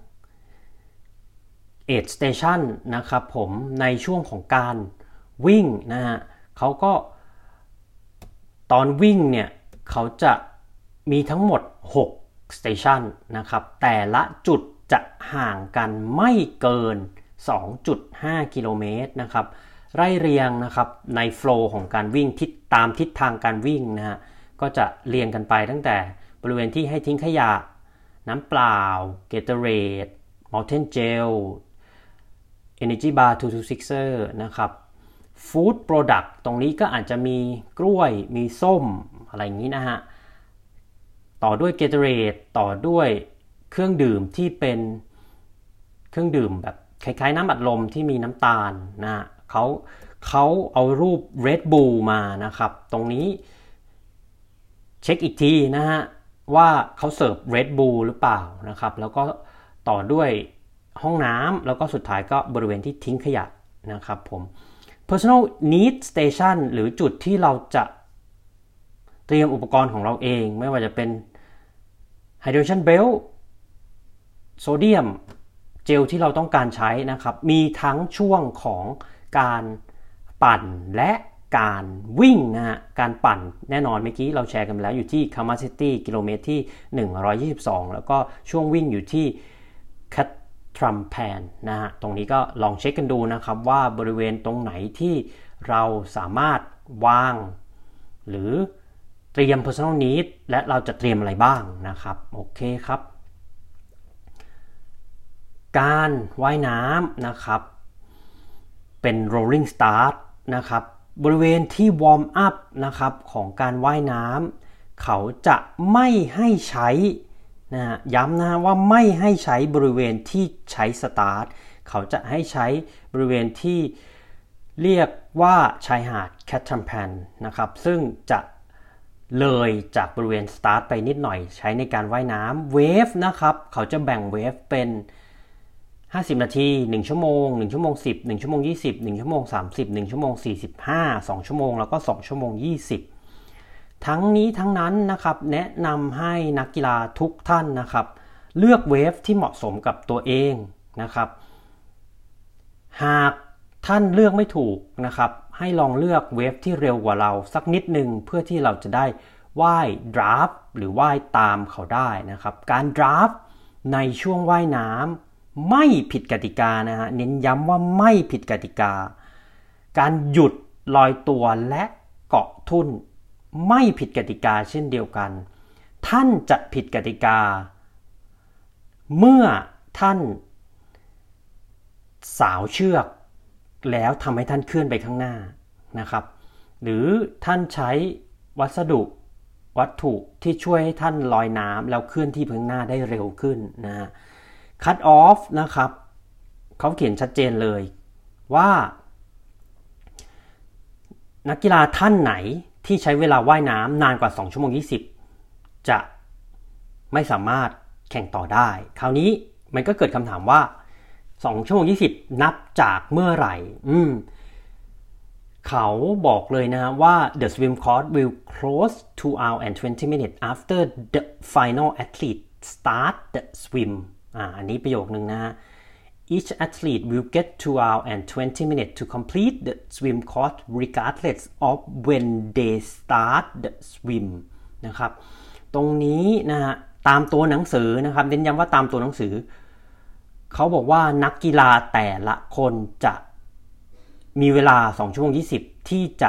[SPEAKER 1] aid station นะครับผมในช่วงของการวิ่งนะฮะเขาก็ตอนวิ่งเนี่ยเขาจะมีทั้งหมดหก station นะครับแต่ละจุดจะห่างกันไม่เกิน สองจุดห้า กิโลเมตรนะครับไล่เรียงนะครับในโฟลว์ของการวิ่งทิศตามทิศทางการวิ่งนะฮะก็จะเรียงกันไปตั้งแต่บริเวณที่ให้ทิ้งขยะน้ำเปล่า Gatorade Mountain Gel Energy Bar ทู ทู ซิกซ์ er นะครับ Food Product ตรงนี้ก็อาจจะมีกล้วยมีส้มอะไรอย่างนี้นะฮะต่อด้วย Gatorade ต่อด้วยเครื่องดื่มที่เป็นเครื่องดื่มแบบคล้ายๆน้ำอัดลมที่มีน้ำตาลนะฮะเขาเขาเอารูป Red Bull มานะครับตรงนี้เช็คอีกทีนะฮะว่าเขาเสิร์ฟ Red Bull หรือเปล่านะครับแล้วก็ต่อด้วยห้องน้ำแล้วก็สุดท้ายก็บริเวณที่ทิ้งขยะนะครับผม Personal Need Station หรือจุดที่เราจะเตรียมอุปกรณ์ของเราเองไม่ว่าจะเป็น Hydration Belt โซเดียมเจลที่เราต้องการใช้นะครับมีทั้งช่วงของการปั่นและการวิ่งนะฮะการปั่นแน่นอนเมื่อกี้เราแชร์กันแล้วอยู่ที่ capacity กิโลเมตรที่หนึ่งร้อยยี่สิบสองแล้วก็ช่วงวิ่งอยู่ที่ Catrampan นะฮะตรงนี้ก็ลองเช็คกันดูนะครับว่าบริเวณตรงไหนที่เราสามารถวางหรือเตรียม personal need และเราจะเตรียมอะไรบ้างนะครับโอเคครับการว่ายน้ำนะครับเป็น rolling start นะครับบริเวณที่ warm up นะครับของการว่ายน้ำเขาจะไม่ให้ใช้นะย้ำนะว่าไม่ให้ใช้บริเวณที่ใช้ start เขาจะให้ใช้บริเวณที่เรียกว่าชายหาด Catrampan นะครับซึ่งจะเลยจากบริเวณ start ไปนิดหน่อยใช้ในการว่ายน้ำ wave นะครับเขาจะแบ่ง wave เป็นห้าสิบนาทีหนึ่งชั่วโมงหนึ่งชั่วโมงสิบ หนึ่งชั่วโมงยี่สิบ หนึ่งชั่วโมงสามสิบ หนึ่งชั่วโมงสี่สิบห้า สองชั่วโมงแล้วก็สองชั่วโมงยี่สิบทั้งนี้ทั้งนั้นนะครับแนะนำให้นักกีฬาทุกท่านนะครับเลือกเวฟที่เหมาะสมกับตัวเองนะครับหากท่านเลือกไม่ถูกนะครับให้ลองเลือกเวฟที่เร็วกว่าเราสักนิดนึงเพื่อที่เราจะได้ว่ายดราฟหรือว่ายตามเขาได้นะครับการดราฟในช่วงว่ายน้ำไม่ผิดกติกานะฮะเน้นย้ำว่าไม่ผิดกติกาการหยุดลอยตัวและเกาะทุ่นไม่ผิดกติกาเช่นเดียวกันท่านจะผิดกติกาเมื่อท่านสาวเชือกแล้วทำให้ท่านเคลื่อนไปข้างหน้านะครับหรือท่านใช้วัสดุวัตถุที่ช่วยให้ท่านลอยน้ำแล้วเคลื่อนที่ไปข้างหน้าได้เร็วขึ้นนะฮะcut off นะครับเขาเขียนชัดเจนเลยว่านักกีฬาท่านไหนที่ใช้เวลาว่ายน้ำนานกว่าสองชั่วโมงยี่สิบจะไม่สามารถแข่งต่อได้คราวนี้มันก็เกิดคำถามว่าสองชั่วโมงยี่สิบนับจากเมื่อไหร่อืมเขาบอกเลยนะว่า the swim course will close two hours and twenty minutes after the final athlete start the swimอ่าอันนี้ประโยคนึงนะฮะ each athlete will get two hours and twenty minutes to complete the swim course regardless of when they start the swim นะครับตรงนี้นะฮะตามตัวหนังสือนะครับเน้นย้ำว่าตามตัวหนังสือเขาบอกว่านักกีฬาแต่ละคนจะมีเวลาสองชั่วโมงยี่สิบที่จะ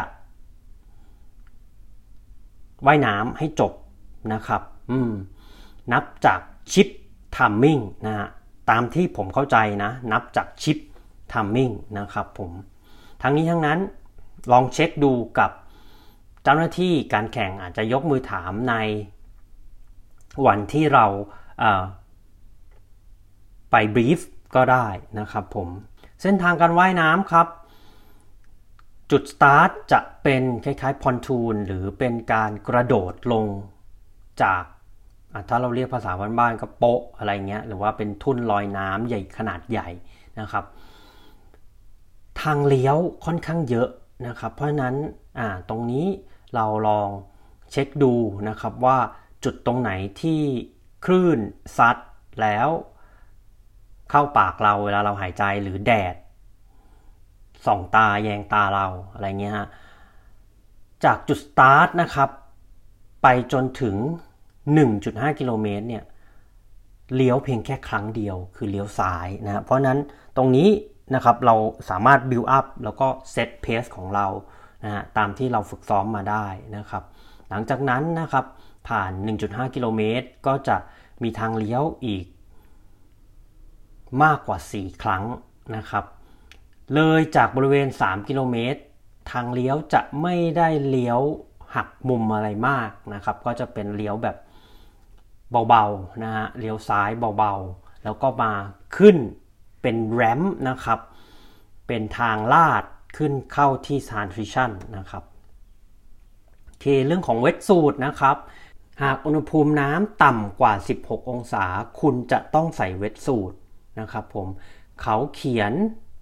[SPEAKER 1] ว่ายน้ำให้จบนะครับอืมนับจากชิปtiming นะฮะตามที่ผมเข้าใจนะนับจากชิป timing นะครับผมทั้งนี้ทั้งนั้นลองเช็คดูกับเจ้าหน้าที่การแข่งอาจจะยกมือถามในวันที่เราเอ่อไปบรีฟก็ได้นะครับผมเส้นทางการว่ายน้ำครับจุดสตาร์ทจะเป็นคล้ายๆพอนทูนหรือเป็นการกระโดดลงจากถ้าเราเรียกภาษาบ้านๆก็โป๊ะอะไรเงี้ยหรือว่าเป็นทุ่นลอยน้ำใหญ่ขนาดใหญ่นะครับทางเลี้ยวค่อนข้างเยอะนะครับเพราะฉะนั้นอ่าตรงนี้เราลองเช็คดูนะครับว่าจุดตรงไหนที่คลื่นซัดแล้วเข้าปากเราเวลาเราหายใจหรือแดดส่องตาแยงตาเราอะไรเงี้ยฮะจากจุดสตาร์ทนะครับไปจนถึง หนึ่งจุดห้า กิโลเมตรเนี่ยเลี้ยวเพียงแค่ครั้งเดียวคือเลี้ยวซ้ายนะเพราะนั้นตรงนี้นะครับเราสามารถ build up แล้วก็เซตเพสของเรานะฮะตามที่เราฝึกซ้อมมาได้นะครับหลังจากนั้นนะครับผ่าน หนึ่งจุดห้า กิโลเมตรก็จะมีทางเลี้ยวอีกมากกว่าสี่ครั้งนะครับเลยจากบริเวณสามกิโลเมตรทางเลี้ยวจะไม่ได้เลี้ยวหักมุมอะไรมากนะครับก็จะเป็นเลี้ยวแบบเบาๆนะฮะเลี้ยวซ้ายเบาๆแล้วก็มาขึ้นเป็นแรมป์นะครับเป็นทางลาดขึ้นเข้าที่ transition นะครับโอเคเรื่องของเวทสูทนะครับหากอุณหภูมิน้ำต่ำกว่าสิบหกองศาคุณจะต้องใส่เวทสูทนะครับผมเขาเขียน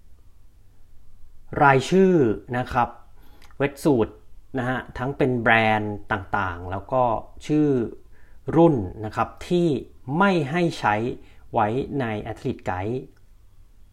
[SPEAKER 1] รายชื่อนะครับเวทสูทนะฮะทั้งเป็นแบรนด์ต่างๆแล้วก็ชื่อรุ่นนะครับที่ไม่ให้ใช้ไว้ใน Athlete Guide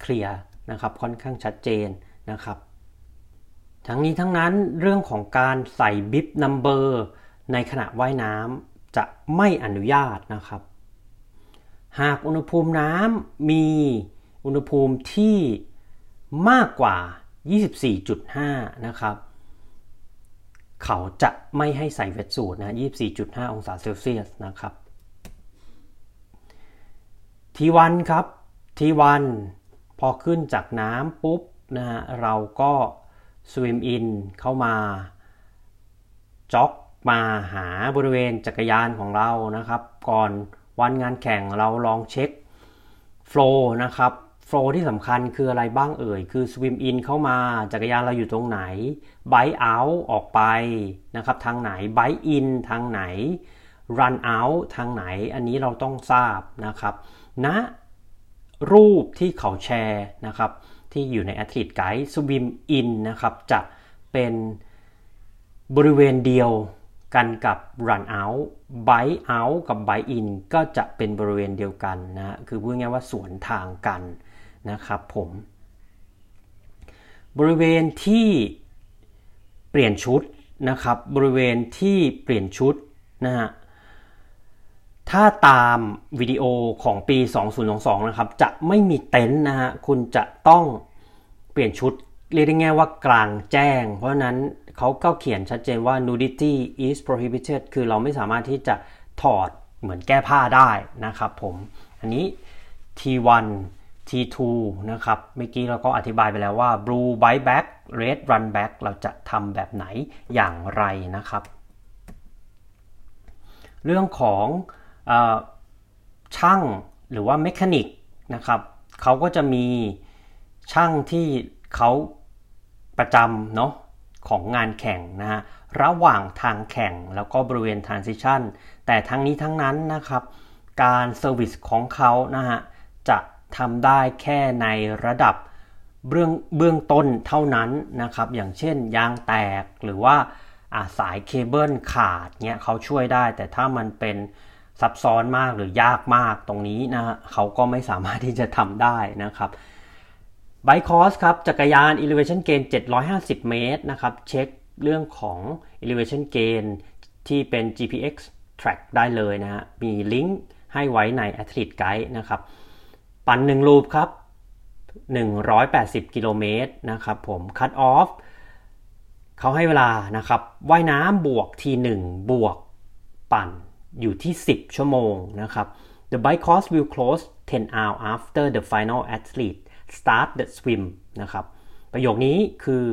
[SPEAKER 1] เคลียร์นะครับค่อนข้างชัดเจนนะครับทั้งนี้ทั้งนั้นเรื่องของการใส่บิบนัมเบอร์ในขณะว่ายน้ำจะไม่อนุญาตนะครับหากอุณหภูมิน้ำมีอุณหภูมิที่มากกว่า ยี่สิบสี่จุดห้า นะครับเขาจะไม่ให้ใส่เวทสูทนะ ยี่สิบสี่จุดห้า องศาเซลเซียสนะครับ ที วัน ครับ ที วัน พอขึ้นจากน้ำปุ๊บนะฮะเราก็สวิมอินเข้ามาจ็อกมาหาบริเวณจักรยานของเรานะครับก่อนวันงานแข่งเราลองเช็คโฟลว์นะครับโฟลว์ที่สำคัญคืออะไรบ้างเอ่ยคือสวิมอินเข้ามาจักรยานเราอยู่ตรงไหนไบค์เอาท์ออกไปนะครับทางไหนไบค์อินทางไหนรันเอาท์ทางไหนอันนี้เราต้องทราบนะครับณนะรูปที่เขาแชร์นะครับที่อยู่ใน Athlete Guide Swim In นะครับจะเป็นบริเวณเดียวกันกับ Run Out Bike Out กับ Bike In ก็จะเป็นบริเวณเดียวกันนะคือพูดง่ายๆว่าสวนทางกันนะครับผมบริเวณที่เปลี่ยนชุดนะครับบริเวณที่เปลี่ยนชุดนะฮะถ้าตามวิดีโอของปีสองพันยี่สิบสองนะครับจะไม่มีเต็นท์นะฮะคุณจะต้องเปลี่ยนชุดเรียกได้ง่ายว่ากลางแจ้งเพราะฉะนั้นเขาก็เขียนชัดเจนว่า nudity is prohibited คือเราไม่สามารถที่จะถอดเหมือนแก้ผ้าได้นะครับผมอันนี้ ที วัน ที ทู นะครับเมื่อกี้เราก็อธิบายไปแล้วว่า blue bike back red run back เราจะทำแบบไหนอย่างไรนะครับเรื่องของเอ่อช่างหรือว่าเมคานิกนะครับเขาก็จะมีช่างที่เขาประจำเนาะของงานแข่งนะฮะระหว่างทางแข่งแล้วก็บริเวณ transition แต่ทั้งนี้ทั้งนั้นนะครับการเซอร์วิสของเขานะฮะจะทำได้แค่ในระดับเบื้องเบื้องต้นเท่านั้นนะครับอย่างเช่นยางแตกหรือว่าสายเคเบิลขาดเงี้ยเขาช่วยได้แต่ถ้ามันเป็นซับซ้อนมากหรือยากมากตรงนี้นะฮะเขาก็ไม่สามารถที่จะทำได้นะครับBike Course ครับจักรยาน Elevation Gain เจ็ดร้อยห้าสิบเมตรนะครับเช็คเรื่องของ Elevation Gain ที่เป็น จี พี เอ็กซ์ Track ได้เลยนะฮะมีลิงก์ให้ไว้ใน Athlete Guide นะครับปั่นหนึ่งลูปครับหนึ่งร้อยแปดสิบกิโลเมตรนะครับผม Cut Off เขาให้เวลานะครับว่ายน้ำบวกทีหนึ่งบวกปั่นอยู่ที่สิบชั่วโมงนะครับ The bike course will close ten hours after the final athlete start the swim นะครับประโยคนี้คือ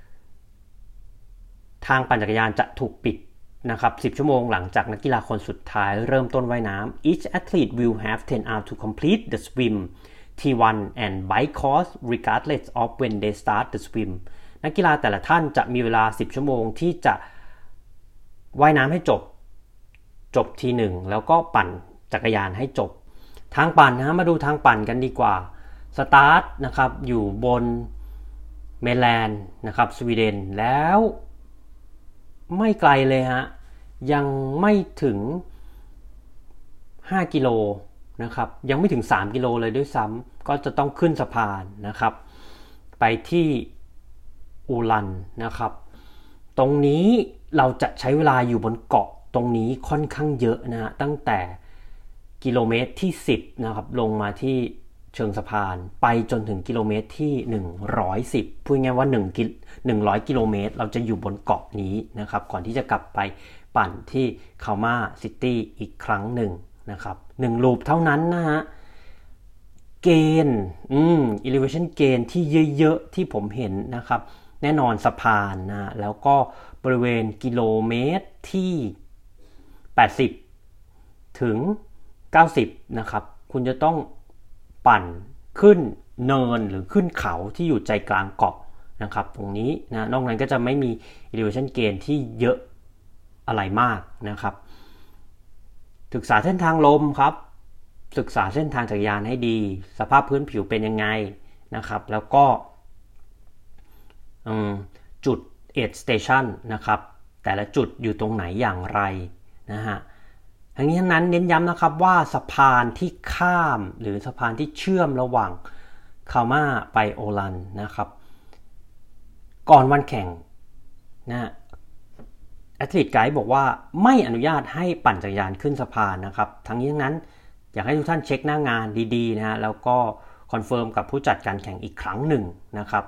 [SPEAKER 1] ทางปั่นจักรยานจะถูกปิดนะครับสิบชั่วโมงหลังจากนักกีฬาคนสุดท้ายเริ่มต้นว่ายน้ำ Each athlete will have ten hours to complete the swim ที วัน and bike course regardless of when they start the swim นักกีฬาแต่ละท่านจะมีเวลาสิบชั่วโมงที่จะว่ายน้ำให้จบจบทีหนึ่งแล้วก็ปั่นจักรยานให้จบทางปั่นนะมาดูทางปั่นกันดีกว่าสตาร์ทนะครับอยู่บนเมนแลนด์นะครับสวีเดนแล้วไม่ไกลเลยฮะยังไม่ถึงห้ากิโลนะครับยังไม่ถึงสามกิโลเลยด้วยซ้ำก็จะต้องขึ้นสะพานนะครับไปที่อูลันนะครับตรงนี้เราจะใช้เวลาอยู่บนเกาะตรงนี้ค่อนข้างเยอะนะฮะตั้งแต่กิโลเมตรที่สิบนะครับลงมาที่เชิงสะพานไปจนถึงกิโลเมตรที่หนึ่งร้อยสิบพูดง่ายว่า1กิหนึ่งร้อยกิโลเมตรเราจะอยู่บนเกาะนี้นะครับก่อนที่จะกลับไปปั่นที่คาม่าซิตี้อีกครั้งหนึ่งนะครับหนึ่งลูปเท่านั้นนะฮะเกณฑ์อืม elevation gain ที่เยอะๆที่ผมเห็นนะครับแน่นอนสะพานนะแล้วก็บริเวณกิโลเมตรที่แปดสิบถึงเก้าสิบนะครับคุณจะต้องปั่นขึ้นเนินหรือขึ้นเขาที่อยู่ใจกลางเกาะนะครับตรงนี้นะนอกนั้นก็จะไม่มี elevation gain ที่เยอะอะไรมากนะครับศึกษาเส้นทางลมครับศึกษาเส้นทางจักรยานให้ดีสภาพพื้นผิวเป็นยังไงนะครับแล้วก็จุด aid station นะครับแต่ละจุดอยู่ตรงไหนอย่างไรนะฮะทั้งนี้ทั้งนั้นเน้นย้ำนะครับว่าสะพานที่ข้ามหรือสะพานที่เชื่อมระหว่างคาม่าไปโอลันนะครับก่อนวันแข่งนะแอธลีทไกด์บอกว่าไม่อนุญาตให้ปั่นจักรยานขึ้นสะพานนะครับทั้งนี้ทั้งนั้นอยากให้ทุกท่านเช็คหน้างานดีๆนะฮะแล้วก็คอนเฟิร์มกับผู้จัดการแข่งอีกครั้งหนึ่งนะครับ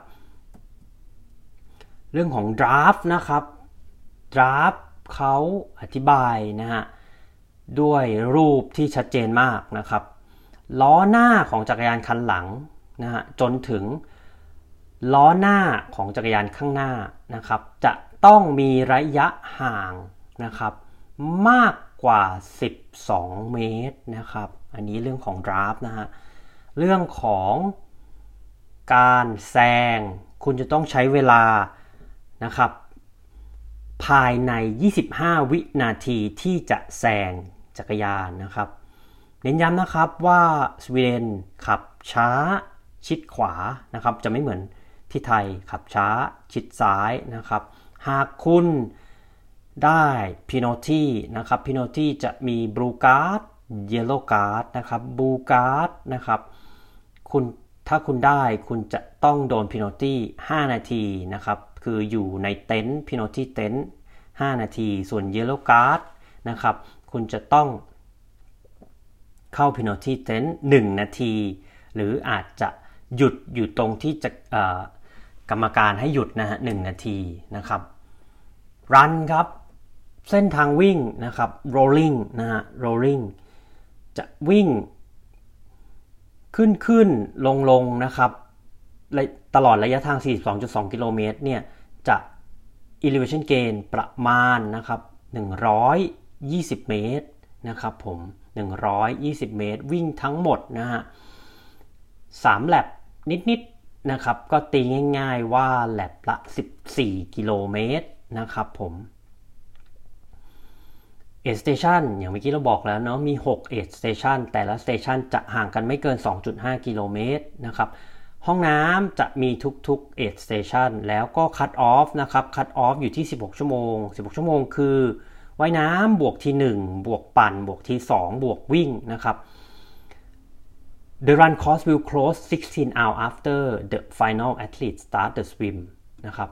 [SPEAKER 1] เรื่องของดราฟต์นะครับดราฟต์เขาอธิบายนะฮะด้วยรูปที่ชัดเจนมากนะครับล้อหน้าของจักรยานคันหลังนะฮะจนถึงล้อหน้าของจักรยานข้างหน้านะครับจะต้องมีระยะห่างนะครับมากกว่าสิบสองเมตรนะครับอันนี้เรื่องของดราฟต์นะฮะเรื่องของการแซงคุณจะต้องใช้เวลานะครับภายในยี่สิบห้าวินาทีที่จะแซงจักรยานนะครับเน้นย้ำนะครับว่าสวีเดนขับช้าชิดขวานะครับจะไม่เหมือนที่ไทยขับช้าชิดซ้ายนะครับหากคุณได้ penalty นะครับ penalty จะมี blue card yellow card นะครับ blue card นะครับคุณถ้าคุณได้คุณจะต้องโดน penalty ห้านาทีนะครับคืออยู่ในเต็นท์ penalty เต็นท์ห้านาทีส่วน yellow card นะครับคุณจะต้องเข้า penalty เต็นท์หนึ่งนาทีหรืออาจจะหยุดอยู่ตรงที่จะกรรมการให้หยุดนะฮะหนึ่งนาทีนะครับรันครับเส้นทางวิ่งนะครับ rolling นะฮะ rolling จะวิ่งขึ้นขึ้นลงลงนะครับตลอดระยะทาง สี่สิบสองจุดสอง กิโลเมตรเนี่ยจะ elevation gain ประมาณนะครับหนึ่งร้อยยี่สิบเมตรนะครับผมหนึ่งร้อยยี่สิบเมตรวิ่งทั้งหมดนะฮะสามแลปนิดๆนะครับก็ตีง่ายๆว่าแลปละสิบสี่กิโลเมตรนะครับผมAid Station อย่างเมื่อกี้เราบอกแล้วเนาะมีหก Aid Station แต่ละ Station จะห่างกันไม่เกิน สองจุดห้า กิโลเมตรนะครับห้องน้ำจะมีทุกๆ Aid Station แล้วก็ Cut Off นะครับ Cut Off อยู่ที่สิบหกชั่วโมงสิบหกชั่วโมงคือว่ายน้ำบวกทีหนึ่งบวกปั่นบวกทีสองบวกวิ่งนะครับ The run course will close sixteen hours after the final athlete start the swim นะครับ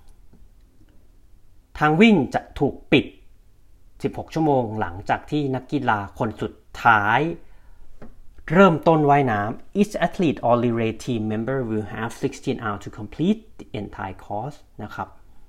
[SPEAKER 1] ทางวิ่งจะถูกปิดสิบหกชั่วโมงหลังจากที่นักกีฬาคนสุดท้ายเริ่มต้นว่ายน้ำ Each athlete or relay team member will have sixteen hours to complete the entire course นะครับ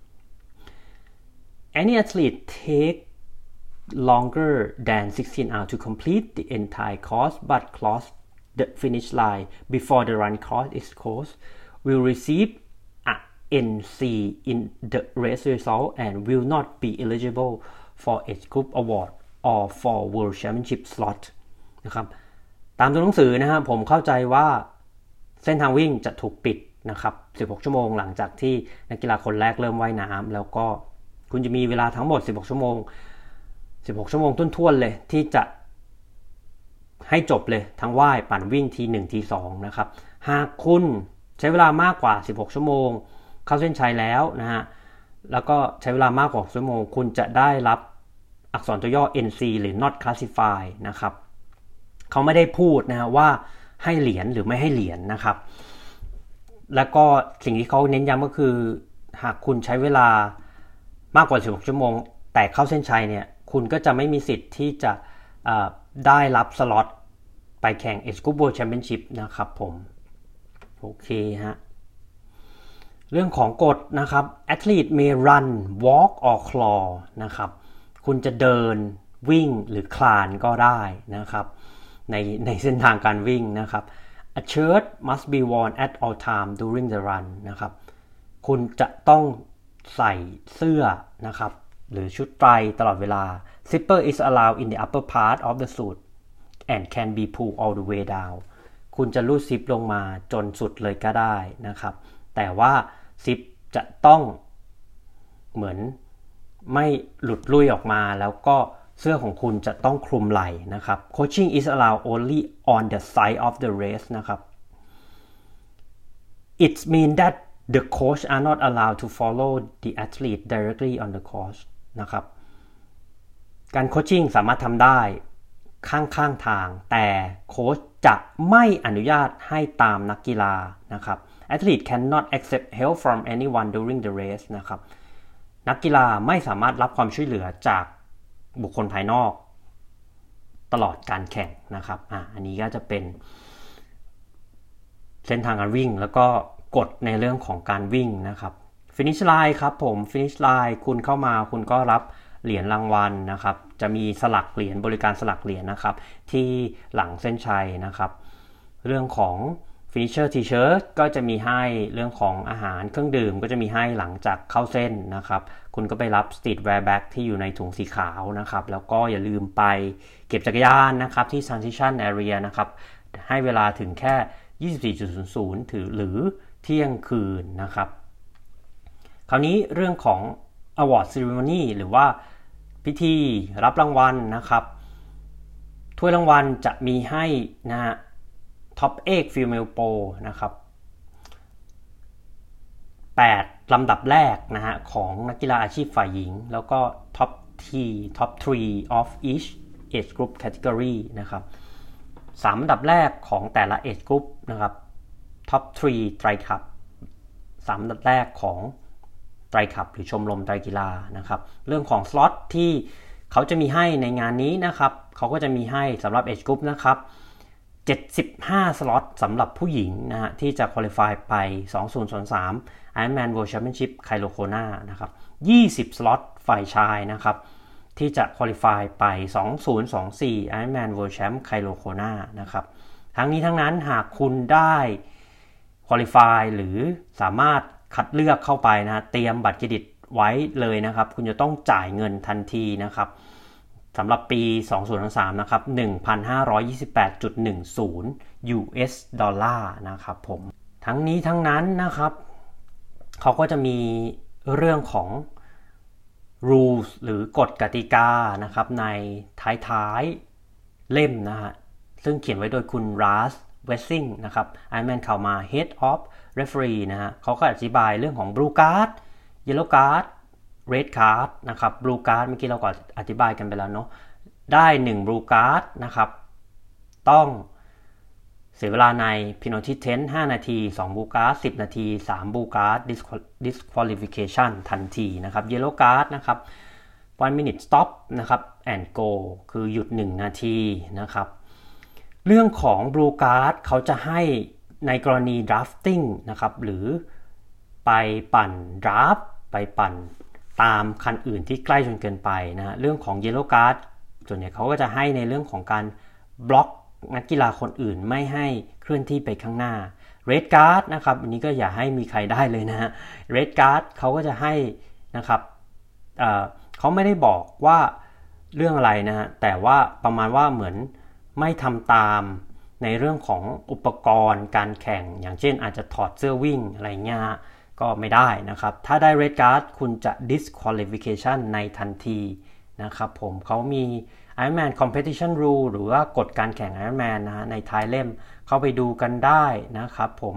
[SPEAKER 1] Any athlete take longer than sixteen hours to complete the entire course but cross the finish line before the run course is closed will receive a N C in the race result and will not be eligible for age group award or for world championship slot นะครับตามตัวหนังสือนะครับผมเข้าใจว่าเส้นทางวิ่งจะถูกปิดนะครับสิบหกชั่วโมงหลังจากที่นักกีฬาคนแรกเริ่มว่ายน้ำแล้วก็คุณจะมีเวลาทั้งหมดสิบหกชั่วโมงสิบหกชั่วโมงท้วนๆเลยที่จะให้จบเลยทั้งว่ายปั่นวิ่งทีหนึ่งทีสองนะครับหากคุณใช้เวลามากกว่าสิบหกชั่วโมงเข้าเส้นชัยแล้วนะฮะแล้วก็ใช้เวลามากกว่าชั่วโมงคุณจะได้รับอักษรตัวย่อ เอ็น ซี หรือ not classified นะครับเขาไม่ได้พูดนะฮะว่าให้เหรียญหรือไม่ให้เหรียญนะครับแล้วก็สิ่งที่เขาเน้นย้ำก็คือหากคุณใช้เวลามากกว่าสิบหกชั่วโมงแต่เข้าเส้นชัยเนี่ยคุณก็จะไม่มีสิทธิ์ที่จะได้รับสล็อตไปแข่ง Age Group World Championship นะครับผมโอเคฮะเรื่องของกฎนะครับ Athlete may run walk or claw นะครับคุณจะเดินวิ่งหรือคลานก็ได้นะครับในในเส้นทางการวิ่งนะครับ A shirt must be worn at all time during the run นะครับคุณจะต้องใส่เสื้อนะครับหรือชุดไตรตลอดเวลา Zipper is allowed in the upper part of the suit and can be pulled all the way down คุณจะรูดซิปลงมาจนสุดเลยก็ได้นะครับแต่ว่าซิปจะต้องเหมือนไม่หลุดลุ่ยออกมาแล้วก็เสื้อของคุณจะต้องคลุมไหล่นะครับ Coaching is allowed only on the side of the race นะครับ It means that the coach are not allowed to follow the athlete directly on the course นะครับการโคชชิ่งสามารถทำได้ข้างๆทางแต่โค้ชจะไม่อนุญาตให้ตามนักกีฬานะครับ Athlete cannot accept help from anyone during the race นะครับนักกีฬาไม่สามารถรับความช่วยเหลือจากบุคคลภายนอกตลอดการแข่งนะครับอ่ะอันนี้ก็จะเป็นเส้นทางการวิ่งแล้วก็กฎในเรื่องของการวิ่งนะครับ Finish Line ครับผม Finish Line คุณเข้ามาคุณก็รับเหรียญรางวัลนะครับจะมีสลักเหรียญบริการสลักเหรียญนะครับที่หลังเส้นชัยนะครับเรื่องของ Finisher T-shirt ก็จะมีให้เรื่องของอาหารเครื่องดื่มก็จะมีให้หลังจากเข้าเส้นนะครับคุณก็ไปรับ Streetwear Bag ที่อยู่ในถุงสีขาวนะครับแล้วก็อย่าลืมไปเก็บจักรยานนะครับที่ Transition Area นะครับให้เวลาถึงแค่ ยี่สิบสี่นาฬิกา ถึงหรือเที่ยงคืนนะครับคราวนี้เรื่องของ Award Ceremony หรือว่าพิธีรับรางวัลนะครับถ้วยรางวัลจะมีให้นะฮะ Top เอ็กซ์ Female Pro นะครับแปดลำดับแรกนะฮะของนักกีฬาอาชีพฝ่ายหญิงแล้วก็ Top สาม Top สาม of each age group category นะครับสามอันดับแรกของแต่ละ age group นะครับ Top สามไตรคัพสามอันดับแรกของไตรคัพหรือชมรมไตรกีฬานะครับเรื่องของสล็อตที่เขาจะมีให้ในงานนี้นะครับเขาก็จะมีให้สำหรับ age group นะครับเจ็ดสิบห้าสล็อตสำหรับผู้หญิงนะฮะที่จะ qualify ไปสองพันยี่สิบสาม Ironman World Championship Kailokona นะครับยี่สิบสล็อตฝ่ายชายนะครับที่จะ qualify ไปสองพันยี่สิบสี่ Ironman World Champ Kailokona นะครับทั้งนี้ทั้งนั้นหากคุณได้ qualify หรือสามารถคัดเลือกเข้าไปนะเตรียมบัตรเครดิตไว้เลยนะครับคุณจะต้องจ่ายเงินทันทีนะครับสำหรับปีสองพันยี่สิบสามนะครับ หนึ่งพันห้าร้อยยี่สิบแปดจุดหนึ่งศูนย์ ยู เอส ดอลลาร์นะครับผมทั้งนี้ทั้งนั้นนะครับเขาก็จะมีเรื่องของ rules หรือกฎกติกานะครับในท้ายๆเล่มนะฮะซึ่งเขียนไว้โดยคุณรัสเวสซิงนะครับ Ironman เข้ามา Head of Referee นะฮะเขาก็อธิบายเรื่องของ Blue Card Yellow Card Red Card นะครับ Blue Card เมื่อกี้เราก็อธิบายกันไปแล้วเนาะได้หนึ่ง Blue Card นะครับต้องเสียเวลาใน Penalty Tent ห้านาทีสอง Blue Card สิบนาทีสาม Blue Card Disqualification ทันทีนะครับ Yellow Card นะครับ one minute stop นะครับ and go คือหยุดหนึ่งนาทีนะครับเรื่องของ Blue Card เขาจะให้ในกรณี drafting นะครับหรือไปปั่น draft ไปปั่นตามคันอื่นที่ใกล้จนเกินไปนะเรื่องของ Yellow Card ส่วนใหญ่เขาก็จะให้ในเรื่องของการบล็อกนักกีฬาคนอื่นไม่ให้เคลื่อนที่ไปข้างหน้า Red Card นะครับอันนี้ก็อย่าให้มีใครได้เลยนะฮะ Red Card เขาก็จะให้นะครับเอ่อเขาไม่ได้บอกว่าเรื่องอะไรนะฮะแต่ว่าประมาณว่าเหมือนไม่ทำตามในเรื่องของอุปกรณ์การแข่งอย่างเช่นอาจจะถอดเสื้อวิ่งอะไรเงี้ยก็ไม่ได้นะครับถ้าได้ Red Card คุณจะ disqualification ในทันทีนะครับผมเขามี Ironman Competition Rule หรือว่ากฎการแข่ง Ironman นะฮะในท้ายเล่มเข้าไปดูกันได้นะครับผม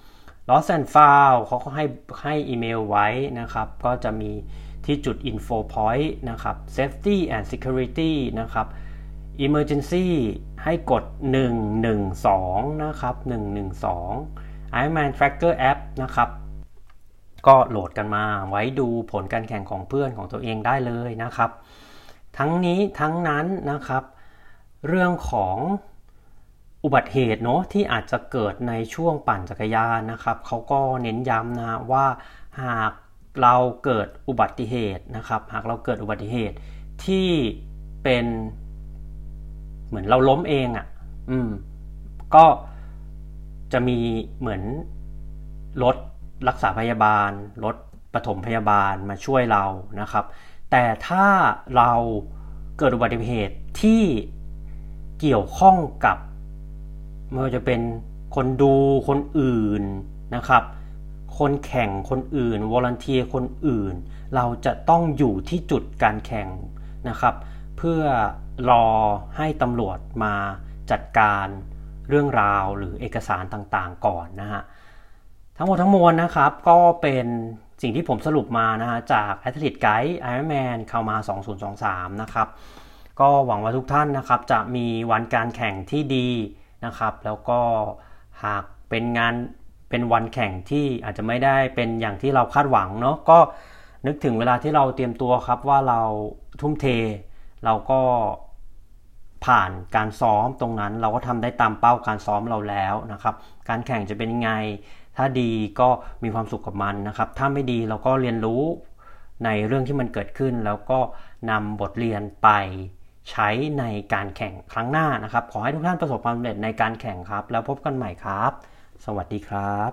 [SPEAKER 1] Lost and Found เขาก็ให้ให้อีเมลไว้นะครับก็จะมีที่จุด info point นะครับ Safety and Security นะครับ Emergency ให้กดหนึ่งหนึ่งสองนะครับหนึ่งหนึ่งสอง Ironman Tracker App นะครับก็โหลดกันมาไว้ดูผลการแข่งของเพื่อนของตัวเองได้เลยนะครับทั้งนี้ทั้งนั้นนะครับเรื่องของอุบัติเหตุเนาะที่อาจจะเกิดในช่วงปั่นจักรยานนะครับเขาก็เน้นย้ำนะว่าหากเราเกิดอุบัติเหตุนะครับหากเราเกิดอุบัติเหตุที่เป็นเหมือนเราล้มเองอ่ะอืมก็จะมีเหมือนรถรักษาพยาบาลรถปฐมพยาบาลมาช่วยเรานะครับแต่ถ้าเราเกิดอุบัติเหตุที่เกี่ยวข้องกับไม่ว่าจะเป็นคนดูคนอื่นนะครับคนแข่งคนอื่นวอลันเทียร์คนอื่นเราจะต้องอยู่ที่จุดการแข่งนะครับเพื่อรอให้ตำรวจมาจัดการเรื่องราวหรือเอกสารต่างๆก่อนนะฮะทั้งหมดทั้งมวลนะครับก็เป็นสิ่งที่ผมสรุปมานะฮะจาก Athlete Guide Ironman เข้ามาสองพันยี่สิบสามนะครับก็หวังว่าทุกท่านนะครับจะมีวันการแข่งที่ดีนะครับแล้วก็หากเป็นงานเป็นวันแข่งที่อาจจะไม่ได้เป็นอย่างที่เราคาดหวังเนาะก็นึกถึงเวลาที่เราเตรียมตัวครับว่าเราทุ่มเทเราก็ผ่านการซ้อมตรงนั้นเราก็ทำได้ตามเป้าการซ้อมเราแล้วนะครับการแข่งจะเป็นยังไงถ้าดีก็มีความสุขกับมันนะครับถ้าไม่ดีเราก็เรียนรู้ในเรื่องที่มันเกิดขึ้นแล้วก็นำบทเรียนไปใช้ในการแข่งครั้งหน้านะครับขอให้ทุกท่านประสบความสำเร็จในการแข่งครับแล้วพบกันใหม่ครับสวัสดีครับ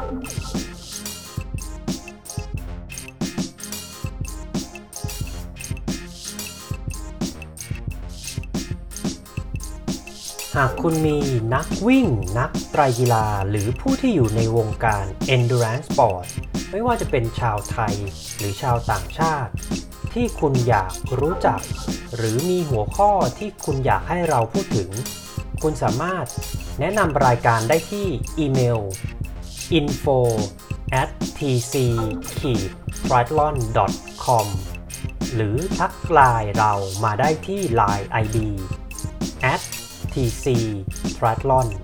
[SPEAKER 1] หากคุณมีนักวิ่งนักไตรกีฬาหรือผู้ที่อยู่ในวงการ Endurance Sport ไม่ว่าจะเป็นชาวไทยหรือชาวต่างชาติที่คุณอยากรู้จักหรือมีหัวข้อที่คุณอยากให้เราพูดถึงคุณสามารถแนะนำรายการได้ที่อีเมล อินโฟ แอท ที ซี ไทรแอธลอน ดอท คอม หรือทักไลน์เรามาได้ที่ ไลน์ ไอ ดี แอท ที ซี ไทรแอธลอน